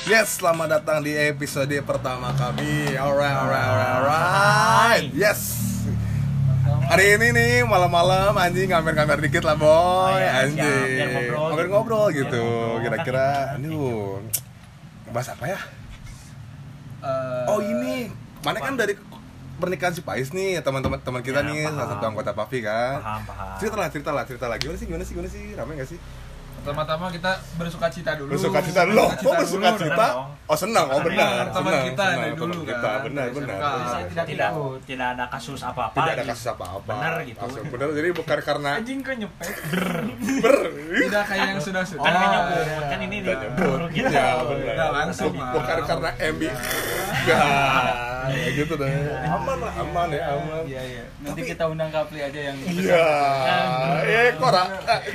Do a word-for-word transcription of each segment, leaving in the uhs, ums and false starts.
Yes, selamat datang di episode pertama kami. Alright, alright, alright, alright. Yes. Hari ini nih malam-malam anjing ngamer-ngamer dikit lah boy. Oh, ya, anjing. Biar ngobrol. Ngobrol-ngobrol Biar gitu. ngobrol. Kira-kira Kita- aduh. Bahas apa ya? Uh, Oh, ini. Mana kan dari pernikahan si Pais nih, teman-teman teman kita Ya, nih, paham. salah satu anggota Pavi kan. Paham, paham. Cerita lah, cerita lah, cerita lah. Gimana sih, gimana sih, gimana sih? Ramai gak sih? pertama-tama kita bersuka cita dulu. Bersuka cita dulu. Oh, bersuka dulu. cita. dong. Oh, senang, oh Senang. benar. Teman senang, kita senang, dari teman dulu kita, kan, benar, dari benar. S M K. benar. Saya tidak tidak tidak ada kasus apa-apa. Tidak ada gitu. kasus apa-apa. Benar gitu. Langsung benar. Jadi bukan karena Anjing kok nyepet. ber. Tidak kayak yang sudah-sudah. Kan Oh, nyebut, iya. kan ini Udah di nyebut. gitu. Ya, benar. Nggak langsung, Bukan- Mas. Bukan karena M B. Enggak. Ya gitu deh. Aman lah, aman ya, aman. Iya, iya. Nanti Tapi- kita undang Kapli aja yang Iya. Eh, kok ra-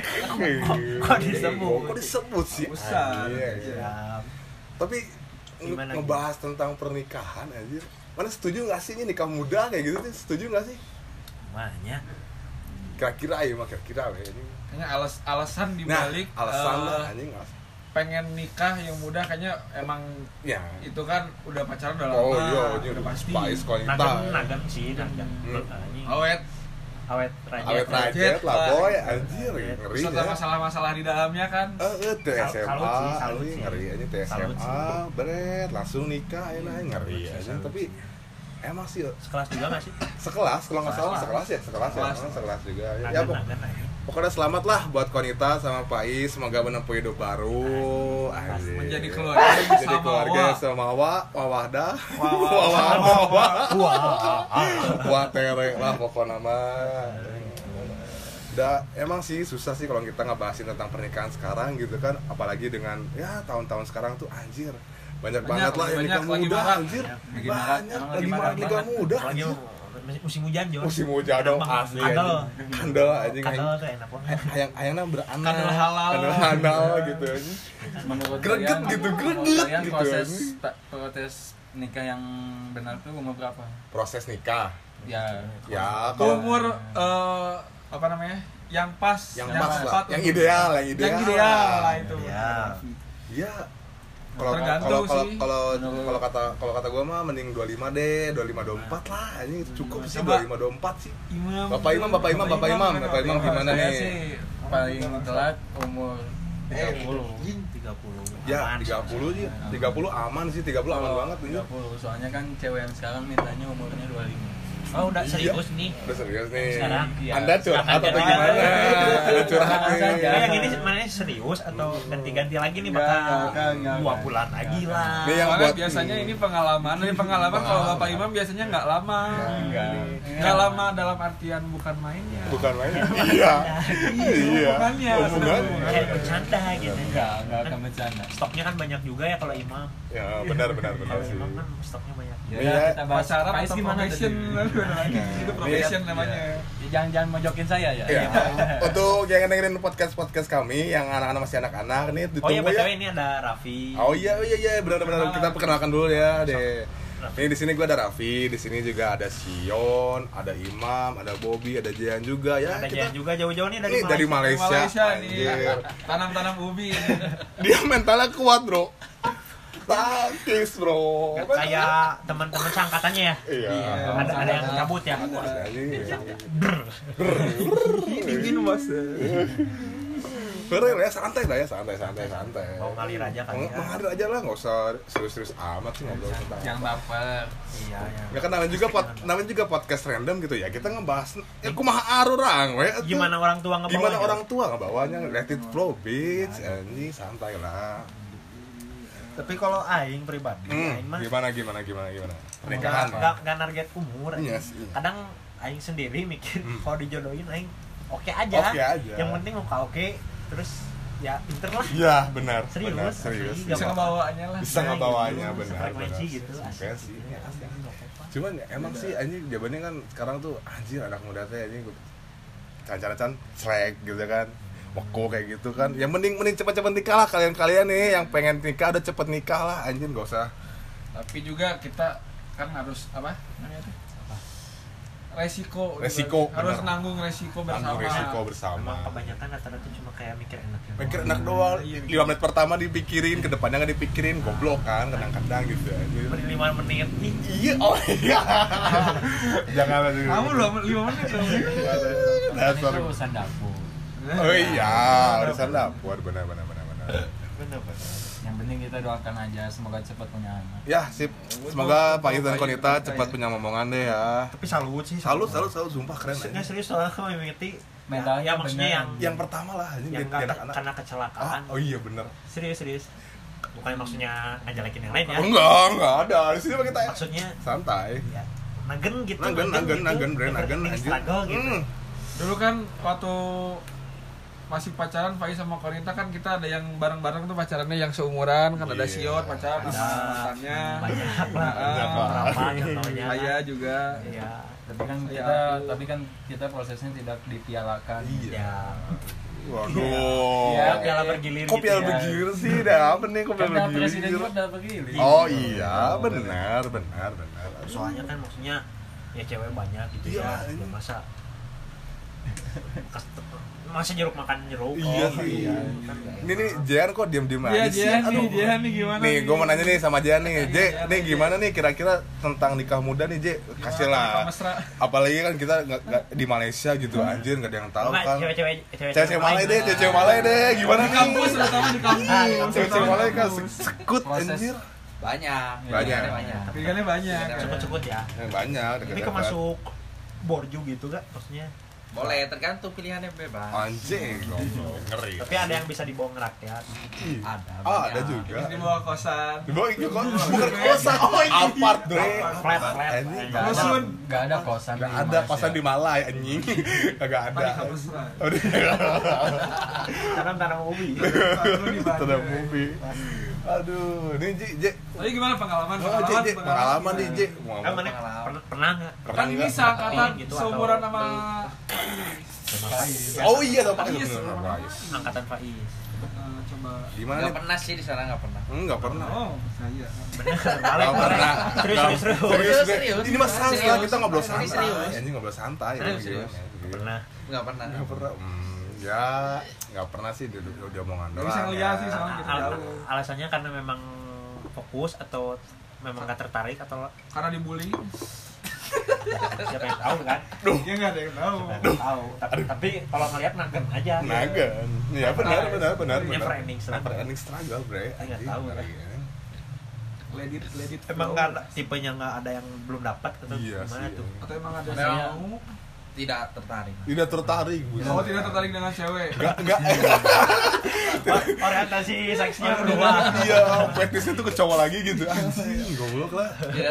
Kok disebut? Kok disebut sih? Besar. Iya, iya. Ya, Tapi nge- Gimana, ngebahas tentang pernikahan aja. Mana setuju nggak sih ini nikah muda kayak gitu sih? Setuju nggak sih? namanya. Kira-kira ya, mah kira-kira we ini. kayaknya alas alasan Nah, dibalik alasan eh, lah anjing alasan. pengen nikah yang muda kayaknya emang Ya. itu kan udah pacaran udah lama. Oh iya, ini udah pasti. Pais kalau kita. Nagam, nagam sih, nagam. Hmm. Anjing. Awet. Awet raja. Awet rajet lah boy, anjir ngeri Terus ada ya. masalah-masalah di dalamnya kan. Eh, eh, T S M A, Salut sih, salut anjing sih. ngeri aja T S Salut M sih. A, beret langsung nikah enak ngeri Salut sih, aja. salut Tapi emang sih Sekelas juga nggak sih? sekelas kalau nggak salah Sekelas. sekelas ya, sekelas ya, Sekelas. emang sekelas juga. Ya, Nagan, ya pok- nagan, nagan. pokoknya selamat lah buat Konita sama Pais, semoga menempuh hidup baru. Anjir. Menjadi keluarga yang Menjadi sama, keluarga wah. yang sama wa, wawahdah, Wawah. wawah, wawah, Wah. wah tere lah pokoknya mah. Udah, emang sih susah sih kalau kita ngebahasin tentang pernikahan sekarang gitu kan, apalagi dengan ya tahun-tahun sekarang tuh anjir banyak, Banyak, banget lah yang banyak, nikah lagi muda marak. anjir, Lagi marak, banyak emang lagi lagi marak marak nikah banget. muda Apalagi anjir. musim hujan Jo. Musim hujan dong Enak asli banget. Kadal. anjing. Kandel anjing Kadal tuh enak banget. ayang ayangnya beranak, Kandel halal. kandel halal gitu anjing. Menurut Greget kalian- gitu, menurut greget kalian gitu, proses anjing. ta- proses nikah yang benar tuh umur berapa? Proses nikah Ya, ya kalau umur eh, apa namanya? Yang pas, yang pas lah, tepat yang untuk- ideal, yang ideal, Yang ideal lah itu. Ya. Iya. Kalau Tergantung kalau kalau sih. kalau Menurut- kalau kata kalau kata gua mah mending dua puluh lima deh, dua puluh lima dua puluh empat lah. Ini cukup sih Coba. dua puluh lima dua puluh empat sih. Imam, Bapak Imam, Bapak Imam, Bapak Imam, Bapak Imam gimana Saya nih? sih paling telat umur tiga puluh. tiga puluh. Ya, Aman. tiga puluh sih. tiga puluh aman sih, tiga puluh aman banget ini. tiga puluh. Soalnya kan cewek yang sekarang mintanya umurnya dua puluh lima. Oh, udah Iya. serius nih. Udah serius nih. Sekarang, iya. Anda curhat Sekarang atau jadi- gimana? Ada curhat nih. Sekarang Nah, yang ini mana serius atau ganti-ganti lagi nih Enggak, bakal enggak, enggak, dua enggak. bulan lagi lah. Nih yang Soalnya buat- biasanya ini pengalaman. Ini pengalaman kalau Bapak Imam biasanya nggak lama. Enggak. Nggak lama dalam artian bukan mainnya. Bukan main. Iya. Iya. Hubungannya, Hubungannya. Kayak bercanda gitu. Enggak, enggak akan bercanda. Stoknya kan banyak juga ya kalau Imam. Ya, benar benar benar Kalau sih. Imam kan stoknya banyak. Ya, Iya. kita bahas pacaran Pais atau gimana profession. tadi? Itu profession namanya. Ya, jangan jangan mojokin saya ya. Iya. Untuk yang dengerin podcast-podcast kami yang anak-anak masih anak-anak nih Oh iya, ditunggu B T W ya. ini ada Raffi. Oh iya iya iya benar-benar kita perkenalkan dulu ya deh. Ini di sini gue ada Raffi, di sini juga ada Sion, ada Imam, ada Bobby, ada Jian juga ya. Ada Kita Jan juga jauh-jauh nih dari ini dari Malaysia. Malaysia. Malaysia nih. Anjir. Tanam-tanam ubi ini. Dia mentalnya kuat, Bro. Takis, Bro. Kayak teman-teman seangkatannya ya. Iya. Ada ada yang cabut ya. Ada aja. Dingin mas. Bener ya, santai lah ya, santai, santai, santai. Mau ngalir aja kan Meng- ya. Mengalir aja lah, nggak usah serius-serius amat sih ngobrol tentang. Jangan baper. Iya, ya. Ya kan namanya juga pod, namanya juga podcast random gitu ya. Kita ngebahas ya kumaha arurang we. atuh. Gimana orang tua ngebawa? Gimana orang tua ngebawanya? Let it flow, bitch. Anjing santai lah. Tapi kalau aing pribadi, Hmm, aing mah gimana gimana gimana gimana. nggak Pernikahan nggak mah. nggak target umur. aing. Iya sih. Kadang aing sendiri mikir Hmm. kalau dijodohin aing oke aja. Oke aja. Yang penting muka oke, terus ya pinter lah. Iya, benar. Serius, Benar, serius. asli. Bisa Nggak ngebawanya lah. Bisa ngebawanya gitu, benar. frekuensi benar. gitu, asli. Frekuensi. Cuman ya, emang sih anjing jawabannya kan sekarang tuh anjir anak muda teh anjing can-can selek gitu kan. Weko kayak gitu kan. Yang mending mending cepet-cepet nikah lah kalian-kalian nih yang pengen nikah udah cepet nikah lah anjir enggak usah. Tapi juga kita kan harus apa namanya tuh? resiko Resiko, harus bener. nanggung resiko bersama. Tanggung resiko bersama. Emang kebanyakan rata-rata cuma kayak mikir enaknya. Mikir enak doang, lima menit pertama dipikirin, ke depannya nggak dipikirin, goblok kan, kadang-kadang gitu aja. lima menit nih. Iya, oh iya. Jangan aja. Kamu loh lima menit dong. Dasar. Itu urusan dapur. Oh iya, urusan dapur, benar benar benar benar. Benar-benar. Yang penting kita doakan aja semoga cepat punya anak. Ya, sip. Semoga Pak Iz dan Konita cepat punya momongan deh ya. Tapi salut sih. Salut, salut, salut, sumpah keren Maksudnya aja. serius soalnya kalau mimiti Mentalnya ya, maksudnya bener. yang Yang pertama lah, ini yang dia nggak anak-anak. karena kecelakaan. Ah, oh iya bener. Serius serius. Bukan maksudnya ngajalakin yang lain ya. Enggak, enggak ada. Di sini mah kita Maksudnya santai. ya nagen gitu. Nagen, nagen, gitu. nagen, bre, nagen, Never ending anjir. struggle gitu. Hmm. Dulu kan waktu masih pacaran Faiz sama Konita kan kita ada yang bareng-bareng tuh pacarannya yang seumuran kan ada Iya. Siot pacaran Ada. mantannya. Banyak lah. Banyak lah. Berapa contohnya. Saya juga. Iya. Tapi kan Ya, kita aku- tapi kan kita prosesnya tidak dipialakan. Iya. Ya. Waduh. Ya, piala bergilir Kok gitu piala ya. bergilir sih? Dah apa nih kok Kan piala ada presiden bergilir? juga dapat begini. Oh iya, benar, benar, benar. Soalnya kan maksudnya ya cewek banyak gitu Iya, ya. ini. Ya masa kas- masa jeruk makan jeruk. Iya Oh, sih. iya. Ini nih Jehan kok diam-diam Iya, aja sih? Jehan Aduh. nih, Jehan nih gimana? Nih, gue mau nanya nih sama Jehan nih. Je, Jehan, nih Jehan. gimana nih kira-kira tentang nikah muda nih, Je? Kasih lah. Mesra. Apalagi kan kita nggak nggak di Malaysia gitu, anjir nggak ada yang tahu Enggak, kan. cewek-cewek Cewek-cewek Malay deh, cewek-cewek Malay deh. Gimana Di nih? kampus terutama di kampus. Ah, Cewek-cewek Malay kan se- sekut Proses. anjir. Banyak. Banyak. banyak. Pilihannya banyak. Cukut-cukut ya. Eh, Banyak. Ini deket-deket. kemasuk borju gitu gak maksudnya? Boleh, tergantung pilihannya bebas. Anjing, goblok, ngeri. Tapi ada yang bisa dibawa ngerakyat. Ih. Ada, Ah, banyak. ada juga. Terus di bawah kosan. Di bawah itu kok bukan kosan, oh apart bre. Flat, flat. Anjing. Nggak ada, Rusun. nggak ada kosan. Nggak di ada Malaysia. kosan di Malay anjing. Kagak ada. Paling kampus mesra. Oh, iya. Tanam tanam ubi. Lu di Bandung. Sudah movie. Aduh, ini Ji, Ji. Tapi gimana pengalaman? Oh, Ji, Ji, pengalaman nih, Ji. Mau Kan ngomong. mana pernah pernah nggak? Pernah Kan nggak? bisa kata Gitu, seumuran atau- sama Oh iya, dong, Pak. Faiz. Angkatan Faiz. Eh, coba. Gimana Nggak nih? pernah sih di sana nggak pernah. Enggak pernah. Oh, saya. Bener, Nggak balik pernah. Serius, Nggak- serius, serius. Serius, Serius, Bre. serius. Ini mah santai, Serius. kita ngobrol Ini santai. serius. Anjing ngobrol santai. Serius, ya, serius. gimana? Pernah. Nggak pernah. Nggak pernah. Hmm, ya, nggak pernah sih dia dia dia omongan Nggak doang. bisa ngeliat ya. sih, soalnya kita Al- jauh. alasannya karena memang fokus atau memang gak tertarik atau Karena dibully. siapa yang tahu kan? Ya nggak ada yang tahu. Siapa yang tahu. Tapi, tapi kalau ngeliat nagen aja. Nagan. Iya benar, benar, benar, benar. Never ending struggle. Never ending struggle, bre. Nggak Anjing, tahu, ngeri, kan. kan. Let it, let it Emang flow. nggak ada tipenya nggak ada yang belum dapat atau Iya gimana sih, tuh? ya. Atau emang ada Memang- yang mau? Tidak tertarik. Tidak tertarik, Bu. Oh, tidak tertarik dengan cewek. Enggak, enggak. Orientasi seksnya Oh, berubah. Iya, fetisnya tuh ke cowok lagi gitu. Anjing, goblok lah. Iya.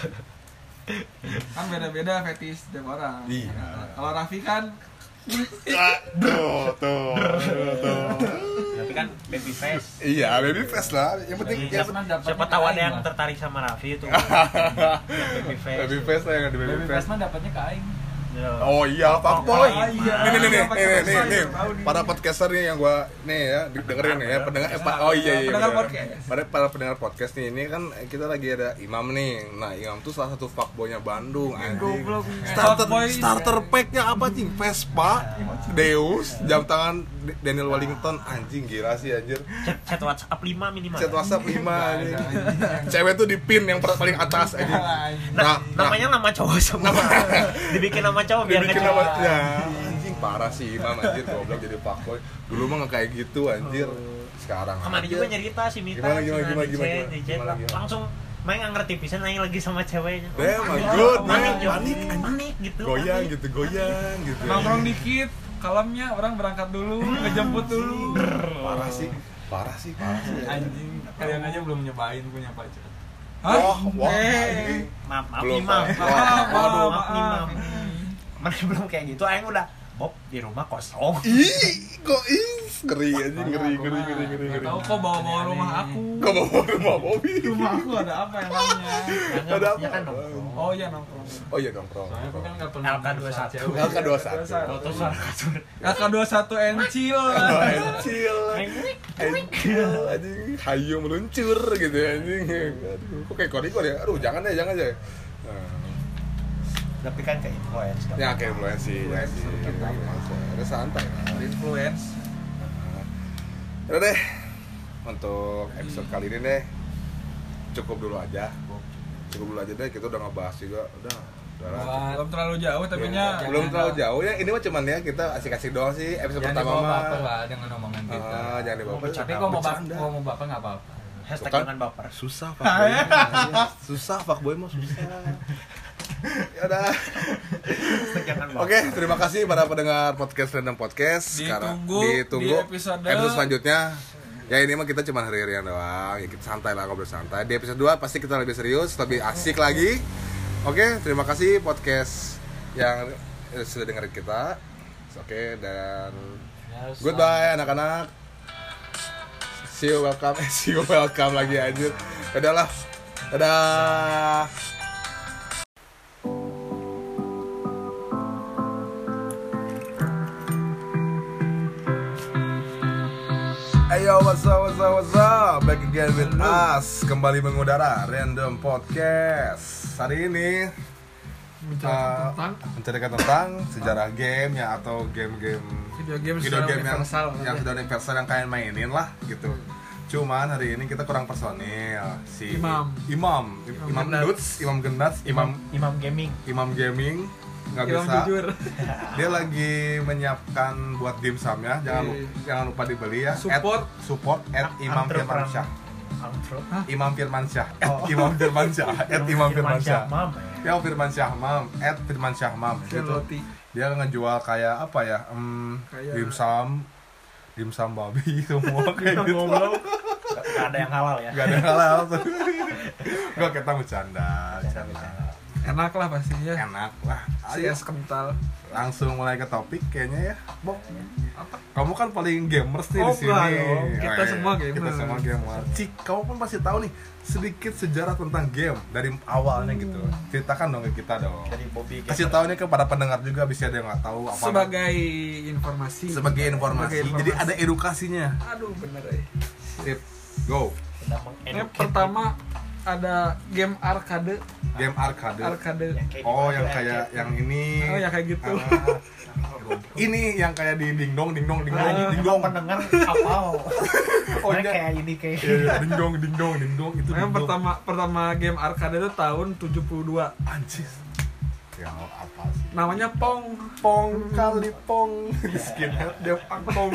Kan beda-beda fetis tiap orang. Iya. Kalau Raffi kan Aduh, tuh, tuh. Tapi kan baby face. Iya, baby face lah. Yang penting Iya, yang Siapa penting dapatnya Siapa tahu ke ada yang aing, Mas. tertarik sama Raffi itu. Yang baby face. baby face lah yang ada baby Baby face. face mah dapatnya ke aing. Iya. Oh iya, Pak Boy. Oh, iya. Nih nih nih nih Pakai nih nih, pesan, nih. tahu nih. Para podcaster nih yang gua nih ya dengerin nih ya pendengar eh, pa- oh iya iya. Pendengar bener. podcast. Para para pendengar podcast nih ini kan kita lagi ada Imam nih. Nah, Imam tuh salah satu fuckboy-nya Bandung anjing. goblok. Starter Fuckboy. starter pack-nya apa cing? Vespa, Deus, jam tangan Daniel Wellington anjing gila sih anjir. Chat, chat WhatsApp lima minimal. Chat WhatsApp lima anjing. Cewek tuh di pin yang per- paling atas anjing. Nah, Nah, nah, namanya nama cowok semua. Dibikin nama cowok biar dibikin ngejawab. nama ya anjing parah sih Imam anjir goblok jadi fuckboy. Dulu mah nggak kayak gitu anjir. Sekarang Kemana aja. juga nyerita si Mita, Gimana, si gimana, Nani, gimana, chat, gimana, di chat, gimana, gimana? langsung main nggak ngerti pisan nanya lagi sama ceweknya. Damn, my Panik, God, panik, man. Jo. Panik, anjing. panik gitu. Goyang panik. gitu, goyang gitu. nongkrong dikit, kalamnya orang berangkat dulu, ngejemput dulu. Parah sih, parah sih, parah sih. Anjing, kalian aja belum nyobain punya pacar. Hah? Wah, wah, Eh. anjing. Maaf, maaf Belum, nih, Mam. Pak. Maaf, maaf, Waduh, maaf. maaf nih, Mam. Mana belum kayak gitu, aing udah Bob di rumah kosong. Ih, kok ih, ngeri anjing, ngeri, ngeri, ngeri, ngeri, ngeri. Tahu kok bawa-bawa rumah aku. Kok bawa rumah Bobby? Rumah aku ada apa emangnya? Enggak, Ada maksudnya apa? kan nongkrong. Oh iya nongkrong. Oh iya nongkrong. Soalnya aku kan nggak pernah L K dua puluh satu. cewek. L K dua puluh satu. Foto suara kasur. L K dua puluh satu Encil. Kecil, kecil, anjing, hayu meluncur gitu ya, anjing. Aduh, kok kayak korikor ya? Aduh, jangan deh, jangan deh. Nah. Tapi kan ke influence. nggak Ya apa-apa. kayak influensi ya sih. Ada santai lah. Influence. Udah deh. Untuk episode kali ini deh cukup dulu aja. Cukup dulu aja deh, kita udah ngebahas juga. Udah. Udah lah. Belum terlalu jauh tapi Ya, nya belum terlalu jauh ya. Ini mah cuman ya kita asik-asik doang sih episode Jangan pertama dibawa mah. baper lah dengan omongan kita. Ah, jangan dibawa baper. Tapi kalau mau baper, Bercanda. kalau mau baper nggak apa-apa. Hashtag Bukan. jangan baper. Susah fuckboy. Susah fuckboy mah susah. Ya udah. Hashtag jangan baper. Oke, terima kasih para pendengar podcast Random Podcast. Sekarang Ditunggu ditunggu di episode- episode selanjutnya. Ya ini mah kita cuma hari-harian doang. Ya kita santai lah, ngobrol santai. Di episode dua pasti kita lebih serius, lebih asik lagi. Oke, terima kasih podcast yang eh, sudah dengerin kita. Oke, dan goodbye anak-anak. See you welcome. Eh, see you welcome lagi anjir. Dadah lah. Dadah. Ayo, what's up, what's up, what's up? Back again with us. Kembali mengudara Random Podcast. Hari ini bicara uh, tentang menceritakan tentang sejarah game ya, atau game-game video game video secara game yang universal. yang sudah universal yang kalian mainin lah gitu. Cuman hari ini kita kurang personil. Si Imam. Imam, Imam Imam Gendats. Dudes, Imam Gendats, Imam Imam Gaming. Imam Gaming nggak Imam bisa. jujur. Dia lagi menyiapkan buat dimsumnya. Jangan lupa, Iya. jangan lupa dibeli ya. Support. At, support at Imam Firmansyah. Antro. Imam Firmansyah. At Oh. Imam Firmansyah. At Imam Firmansyah. Mam ya. Ya Firmansyah Mam. At Firmansyah Mam. Gitu. Roti. Dia ngejual kayak apa ya? Hmm, Kayak- dimsum, dimsum babi semua kayak gitu. Gak ada yang halal ya. Gak ada halal tuh. Gak, kita bercanda. Bercanda. Enak lah pastinya. Enak lah. Si Ayo es kental. langsung mulai ke topik kayaknya ya. Bok. Kamu kan paling gamers nih Oh, di sini. enggak dong. Kita Oh, iya. semua gamer. Kita semua gamer. Cik, kamu pun pasti tahu nih sedikit sejarah tentang game dari awalnya gitu. Ceritakan dong ke kita dong. Dari Bobby Kasih tahu nih kepada pendengar juga, bisa ada yang nggak tahu apa. Sebagai informasi. sebagai informasi. Sebagai informasi. Jadi ada edukasinya. Aduh bener ya. Sip. Go. Sudah Yang mengeduket. pertama ada game arcade. Game arcade. Arcade. Yang kayak Oh, di yang Mario kayak Arcade. yang ini. Oh ya kayak gitu. Ah, ini yang kayak di dingdong dingdong dingdong Ah, dingdong. pendengar apal. Oh, Mereka iya. kayak ini kayak. Iya, iya, dingdong dingdong dingdong itu. Nah, yang dingdong. pertama pertama game arcade itu tahun tujuh puluh dua. Anjir. Ya apa sih? Namanya Pong. Pong kali pong. Skinhead dia pong.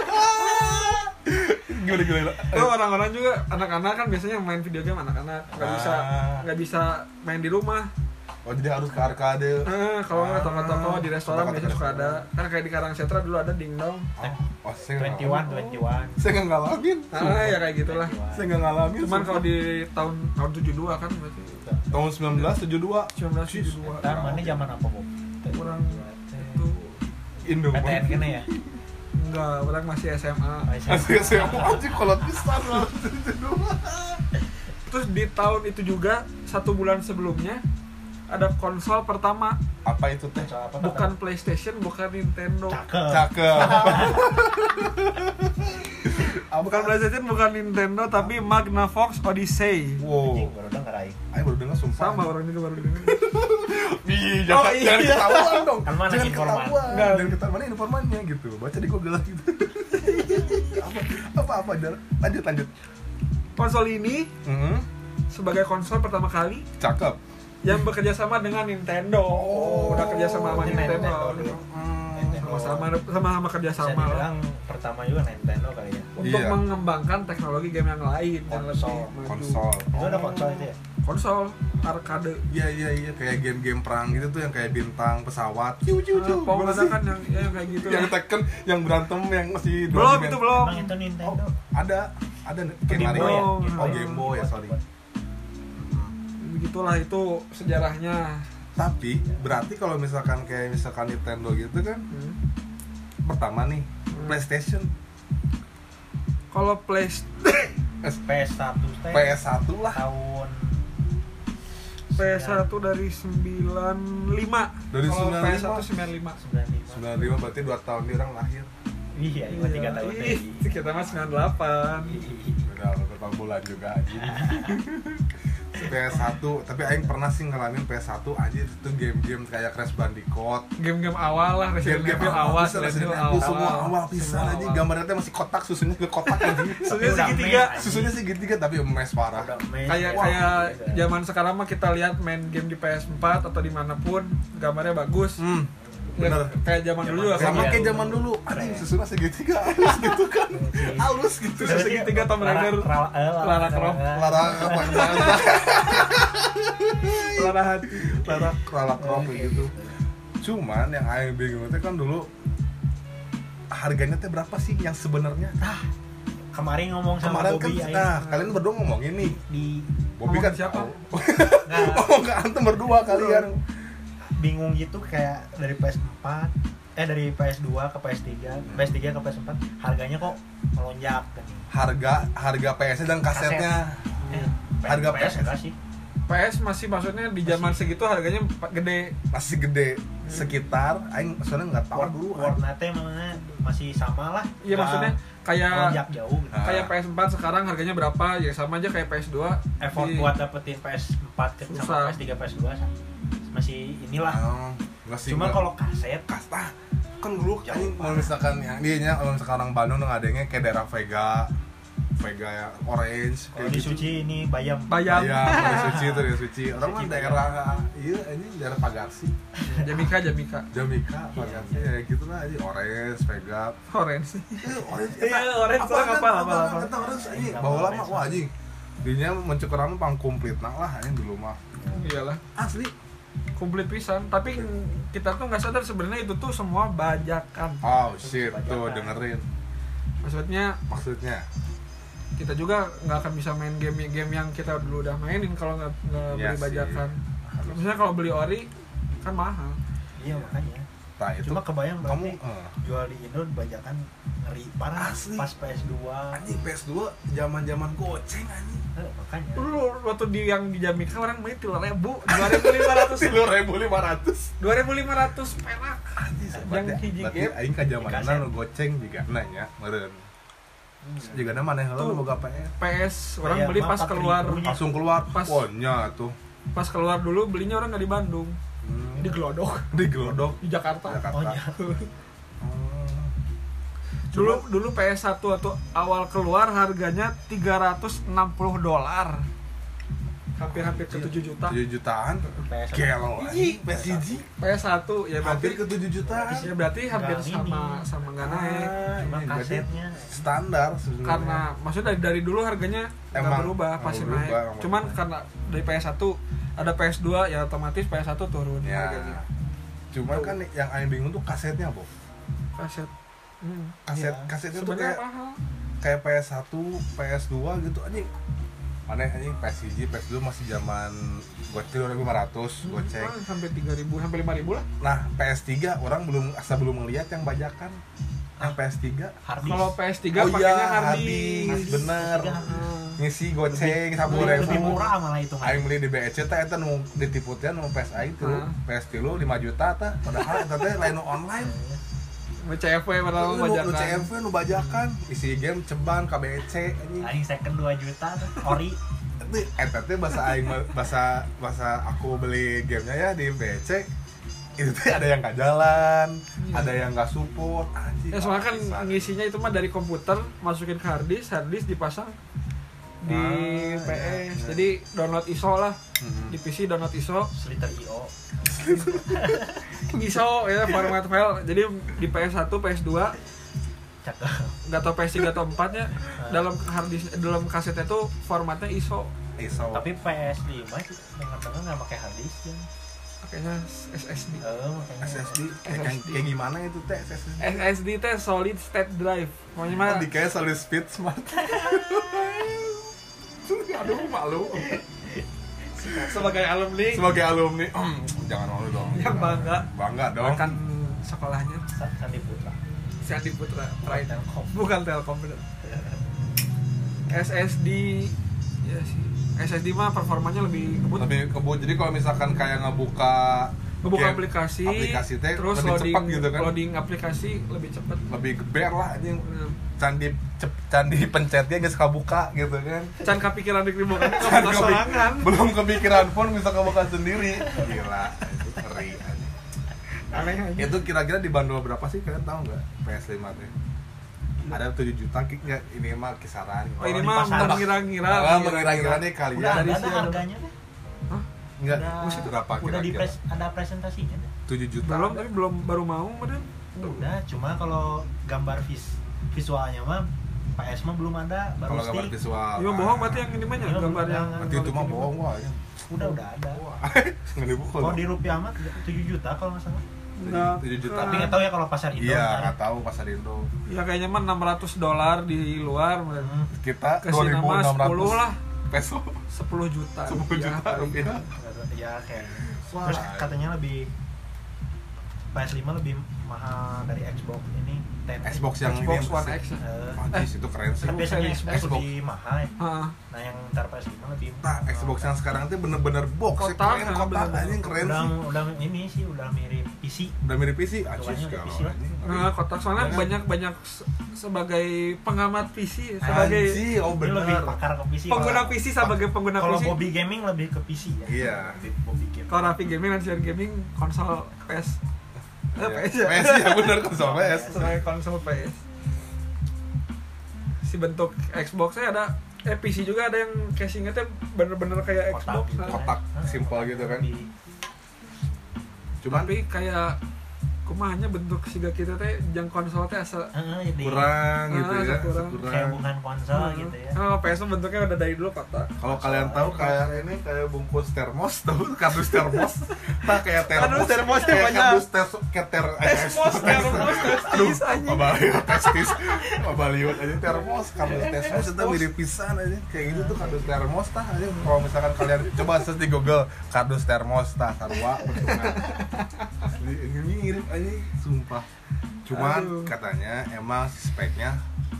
Gimana gimana? Itu orang-orang juga anak-anak kan biasanya main video game anak-anak nggak bisa Ah. nggak bisa main di rumah. Oh jadi harus ke arcade. Eh, kalau nggak Ah. toko-toko di restoran Toko-toko biasanya suka restoran. ada. Kan kayak di Karangsetra dulu ada dingdong. Oh, oh saya nggak dua puluh satu, ngalamin. dua puluh satu. Saya nggak ngalamin. Ah ya kayak gitulah. Saya nggak ngalamin. Cuman sumpah. kalau di tahun tahun tujuh puluh dua kan berarti tahun sembilan belas tujuh puluh dua sembilan belas tujuh puluh dua. Dan mana zaman apa, Bu? Kurang itu Indo. P T N kene ya. enggak, orang masih S M A. Asli saya mau aja kalau bisa lah. Terus di tahun itu juga satu bulan sebelumnya ada konsol pertama, Apa itu teh? Apa bukan PlayStation, bukan Nintendo. cakep. Cakep. Bukan PlayStation, bukan Nintendo, tapi Magnavox Odyssey. Wow. Anjing, baru denger aing. Ayo baru dengar sumpah. Sama orang juga baru dengar. Ih, jangan, Oh, iya. jangan ketahuan dong. Kan mana jangan informan? ketahuan. Enggak. Jangan ketahuan mana informannya gitu. Baca di Google lah gitu. apa apa apa Dar? Lanjut lanjut. Konsol ini Mhm. sebagai konsol pertama kali Cakep. yang bekerja sama dengan Nintendo. Oh, udah kerja sama sama ini Nintendo. Nintendo dulu. Sama-sama sama-sama kerja Bisa sama lah. dibilang pertama juga Nintendo kali ya. Untuk Iya. mengembangkan teknologi game yang lain yang lebih Konsol. maju. Konsol. Itu ada konsol itu ya? Konsol arcade. Iya iya iya kayak game-game perang gitu tuh yang kayak bintang pesawat. Ciu ciu ciu. Ah, Pong Gimana ada sih? kan yang ya, yang kayak gitu. Yang Tekken, yang berantem, yang masih dua belum dimen- itu belum. Emang itu Nintendo. Ada ada kayak Game Mario. Boy ya? Oh Game Boy ya sorry. Begitulah itu sejarahnya. Tapi berarti kalau misalkan kayak misalkan Nintendo gitu kan Hmm. pertama nih Hmm. PlayStation Kalau Play P S satu teh P S satu lah tahun P S satu dari sembilan puluh lima. Dari Kalau sembilan puluh lima. P S satu sembilan puluh lima. sembilan puluh lima. sembilan puluh lima berarti dua tahun dia orang lahir. Iya, cuma tiga tahun Ih, kita mah sembilan puluh delapan. Udah beberapa bulan juga aja. P S satu, tapi aing pernah sih ngalamin P S satu anjir itu game-game kayak Crash Bandicoot. Game-game awal lah, Resident Game-game Evil awal, bisa, Resident Resident Evil Evil semua awal. awal pisan Semua aja awal. gambarnya teh masih kotak, susunya ke kotak aja. Susunya Udah segitiga. mes, Susunya segitiga tapi emes parah. Udah mes, Kayak ya. kayak Gitu. zaman sekarang mah kita lihat main game di P S empat atau dimanapun gambarnya bagus. Hmm. Ya, Bener. kayak zaman dulu juga kan. Sama Iya, kayak dulu. zaman dulu, anjing susunya segitiga halus gitu kan. Halus gitu. Terus segitiga Tomb Raider, Lara- Lara- Lara Croft. Lara apa Lara hati. Lara Lara Croft Oke, gitu. Cuman yang aing bingung teh kan dulu harganya teh berapa sih yang sebenarnya? Ah, kemarin ngomong sama Kemarin kan Bobby aing. nah, kalian berdua ngomongin nih. Di Bobby Ngomong kan siapa? tahu. nggak, Ngomong ke antum berdua kalian. bingung gitu kayak dari P S empat eh dari P S dua ke P S tiga, P S tiga ke P S empat harganya kok melonjak kan. Harga harga P S-nya dan kasetnya. Eh, Harga P S P S. enggak sih? P S masih maksudnya di zaman segitu harganya gede. Masih gede sekitar aing soalnya enggak tahu War- dulu. warna teh mana masih sama lah. Iya Nah. maksudnya kayak Melonjak jauh gitu. Ah. kayak P S empat sekarang harganya berapa? Ya sama aja kayak P S dua. Effort Di- buat dapetin P S empat ke Susah. sama P S tiga, P S dua masih inilah. Oh, enggak sih. Cuma enggak. kalau kaset kasta kan dulu Jauh anjing kalau misalkan yang dia nya kalau misalkan orang Bandung ngadengnya kayak daerah Vega Vega ya Orange kalau di Suci ini bayam. Bayam. ya di Suci itu di Suci orang mah Suci, daerah iya ini daerah Pagarsi Jamika, Jamika. Jamika Pagarsi ya gitu lah aja Orange Vega Orange. Eh, Orange Iya, Orange apa tuh kan apa, apa, apa apa. kata Orange anjing Enggak, bawa lama Orange. wah anjing dinya mencukuran pang komplit nah lah anjing dulu mah Iyalah, asli komplit pisan. Tapi kita tuh nggak sadar sebenarnya itu tuh semua bajakan. oh shit tuh Bajakan. dengerin Maksudnya maksudnya kita juga nggak akan bisa main game-game yang kita dulu udah mainin kalau nggak nggak Iya beli sih. bajakan. Misalnya kalau beli ori kan mahal. Iya makanya. nah itu Cuma kebayang kamu berarti eh, jual di Indo bajakan ngeri parah Asli. pas P S dua. anjing P S dua zaman-zaman goceng anjing Eh, makanya. Dulu waktu di yang di Jamika orang beli tiga ribu, dua ribu lima ratus, sepuluh ribu lima ratus dua ribu lima ratus perak. Yang hiji berarti game. aing ka Di zamanna kaset. nu goceng juga nanya meureun Hmm. juga na maneh heula Tuh. boga P S P S orang Kayak beli mah pas empat keluar, ribu. langsung keluar Pas. ponya tuh pas keluar dulu belinya orang nggak di Bandung, hmm. di Glodok, di Glodok di Jakarta. Jakarta Oh iya. Hmm. Dulu dulu P S satu atau awal keluar harganya tiga ratus enam puluh dolar. Hampir-hampir ke tujuh juta. tujuh jutaan P S gelo anjing P S hiji P S satu ya hampir berarti ke tujuh jutaan ya berarti hampir Nggak sama ini. sama nggak naik. Ah, Cuma ini berarti kasetnya. standar sebenarnya Karena maksudnya dari, dari dulu harganya nggak Emang berubah, nggak pasti berubah, naik. nggak Cuman berubah. karena dari P S satu ada P S dua ya otomatis P S satu turun ya harganya. cuman kan yang aing bingung tuh kasetnya Bob Kaset. Hmm. kaset Iya. kasetnya tuh Sebenarnya kayak mahal. kayak P S satu, P S dua gitu anjing. Aneh anjing P S satu, P S dua masih zaman goceng dua ribu lima ratus goceng. Hmm, sampai tiga ribu, sampai lima ribu lah. Nah, P S tiga orang belum asa belum melihat yang bajakan. Yang P S tiga. Harddisk. Kalau P S tiga Oh pakainya iya, harddisk. harddisk, bener. Hmm. Ngisi goceng lebih, sepuluh lebih ribu. murah malah itu mah. Aing beli di B E C teh eta nu ditipu teh nu P S A itu, Hah? P S tiga lima juta tah. Padahal eta teh lain nu online. Nu C F W padahal Nu nu bajakan. C F W nu bajakan, isi game ceban K B C anjing. Aing second dua juta tuh, ori. Tapi eta teh bahasa aing mah- bahasa bahasa aku beli gamenya ya di B C itu teh ada yang nggak jalan, Iya. ada yang nggak support anjing. Ya soalnya kan Bisa. ngisinya itu mah dari komputer masukin ke harddisk, harddisk dipasang di Ah, P S. iya, iya. Jadi download I S O lah. Mhm. Di P C download I S O, Sliter I O. I S O ya format file. Jadi di P S satu, P S dua, Cakep. nggak tau P S tiga atau empat nya dalam harddisk dalam kasetnya tuh formatnya I S O. I S O. Tapi P S lima sih dengar-dengar nggak pakai harddisk ya. Pakainya S S D. Eh, makanya. S S D kayak, S S D. kayak gimana itu teh S S D? S S D teh solid state drive. Pokoknya mah Oh, di kayak solid speed smart. Aduh malu. sebagai alumni Sebagai alumni, jangan malu dong. yang bangga Bangga dong. akan sekolahnya Sa- Sandi Putra. si Andi Putra Pride Pride. Telkom. Bukan Telkom bener. S S D ya sih. S S D mah performanya lebih ngebut. Lebih kebut. Jadi kalau misalkan kayak ngebuka ngebuka Kayak aplikasi, aplikasi teh terus lebih loading cepat gitu kan. loading aplikasi lebih cepat. Lebih geber lah anjing. Bener. Candi cep, candi pencetnya geus kabuka gitu kan. Can kepikiran di ribu kan Can kamu kepi- sorangan. Belum kepikiran pun bisa kabuka sendiri. Gila, itu ngeri anjing. Aneh aja. Itu kira-kira dibanderol berapa sih kalian tahu nggak P S lima teh? Ada tujuh juta kick nggak? Ini mah kisaran. Oh, ini di mah pasar. mengira-ngira. Nah, mengira-ngira nih kalian. Udah Dari ada sini ada ada. harganya deh. Hah? Enggak, Udah, mesti berapa udah di kira-kira? pres, ada presentasinya deh. tujuh juta. Belum, tapi belum baru mau, Madan. Udah, cuma kalau gambar vis visualnya mah P S mah belum ada, baru Kalau gambar stick. visual. Ini mah bohong berarti yang ini mah ya, Iya, gambar yang Berarti itu mah bohong wah. ya. Udah udah ada. Nggak dibukul. Kalau di rupiah mah tujuh juta kalau nggak salah. Enggak. tujuh juta. Tapi nggak tahu ya kalau pasar Indo. Iya, ntar. nggak tahu pasar Indo. Ya kayaknya mah enam ratus dolar di luar. Hmm. Kita Kasih dua ribu nama enam sepuluh ratus lah. peso. sepuluh juta. sepuluh juta rupiah. Ya kayak. Wah. Terus katanya lebih P S lima lebih mahal dari Xbox ini. ten. Xbox yang Xbox ini One sih. X. ya. Eh, Anjis, itu keren sih. kan biasanya Xbox. Xbox lebih mahal ya. Heeh. Nah yang ntar P S lima lebih Nah, Xbox yang sekarang tuh bener-bener box, Kotak, keren kan, kotak bener-bener. anjing keren udah, sih. udah ini sih udah mirip P C. Udah mirip P C, anjis Tuanya udah kalau P C lah. anjing. Nah, kotak soalnya Jangan. banyak banyak se- sebagai pengamat P C, sebagai Anjing, oh Ini lebih bener. pakar ke P C. pengguna Kalau- P C sebagai pengguna P Kalau C. Bobby Gaming lebih ke P C ya. Iya. Lebih Bobby Gaming. Kalau Raffi Gaming dan Sian Gaming konsol P S. Eh, Iya. P S ya. P S ya bener konsol P S. Sebagai konsol P S. Si bentuk Xbox-nya ada eh P C juga ada yang casingnya tuh bener-bener kayak Kotak Xbox. gitu nah. kotak. kan. Simple gitu kan. Lebih- Cuman Tapi kayak kumahnya bentuk siga kita teh jang konsol teh asa Eh, jadi kurang gitu Ah, ya, kurang. kurang. kayak bukan konsol gitu ya. Oh, P S bentuknya udah dari dulu kotak. Kalau kalian tahu kayak ini kayak bungkus termos, tahu kardus termos, nah kayak termos, Kardus termos kayak banyak. kardus tes keter, Tesmos, termos, testis anjing. Mabaliut testis, mabaliut aja termos, kardus termos itu mirip pisan aja, kayak gitu tuh kardus termos tah aja. Kalau misalkan kalian coba search di Google kardus termos tah sarua bentuknya, ini mirip aja, sumpah. Cuman Aduh. katanya emang speknya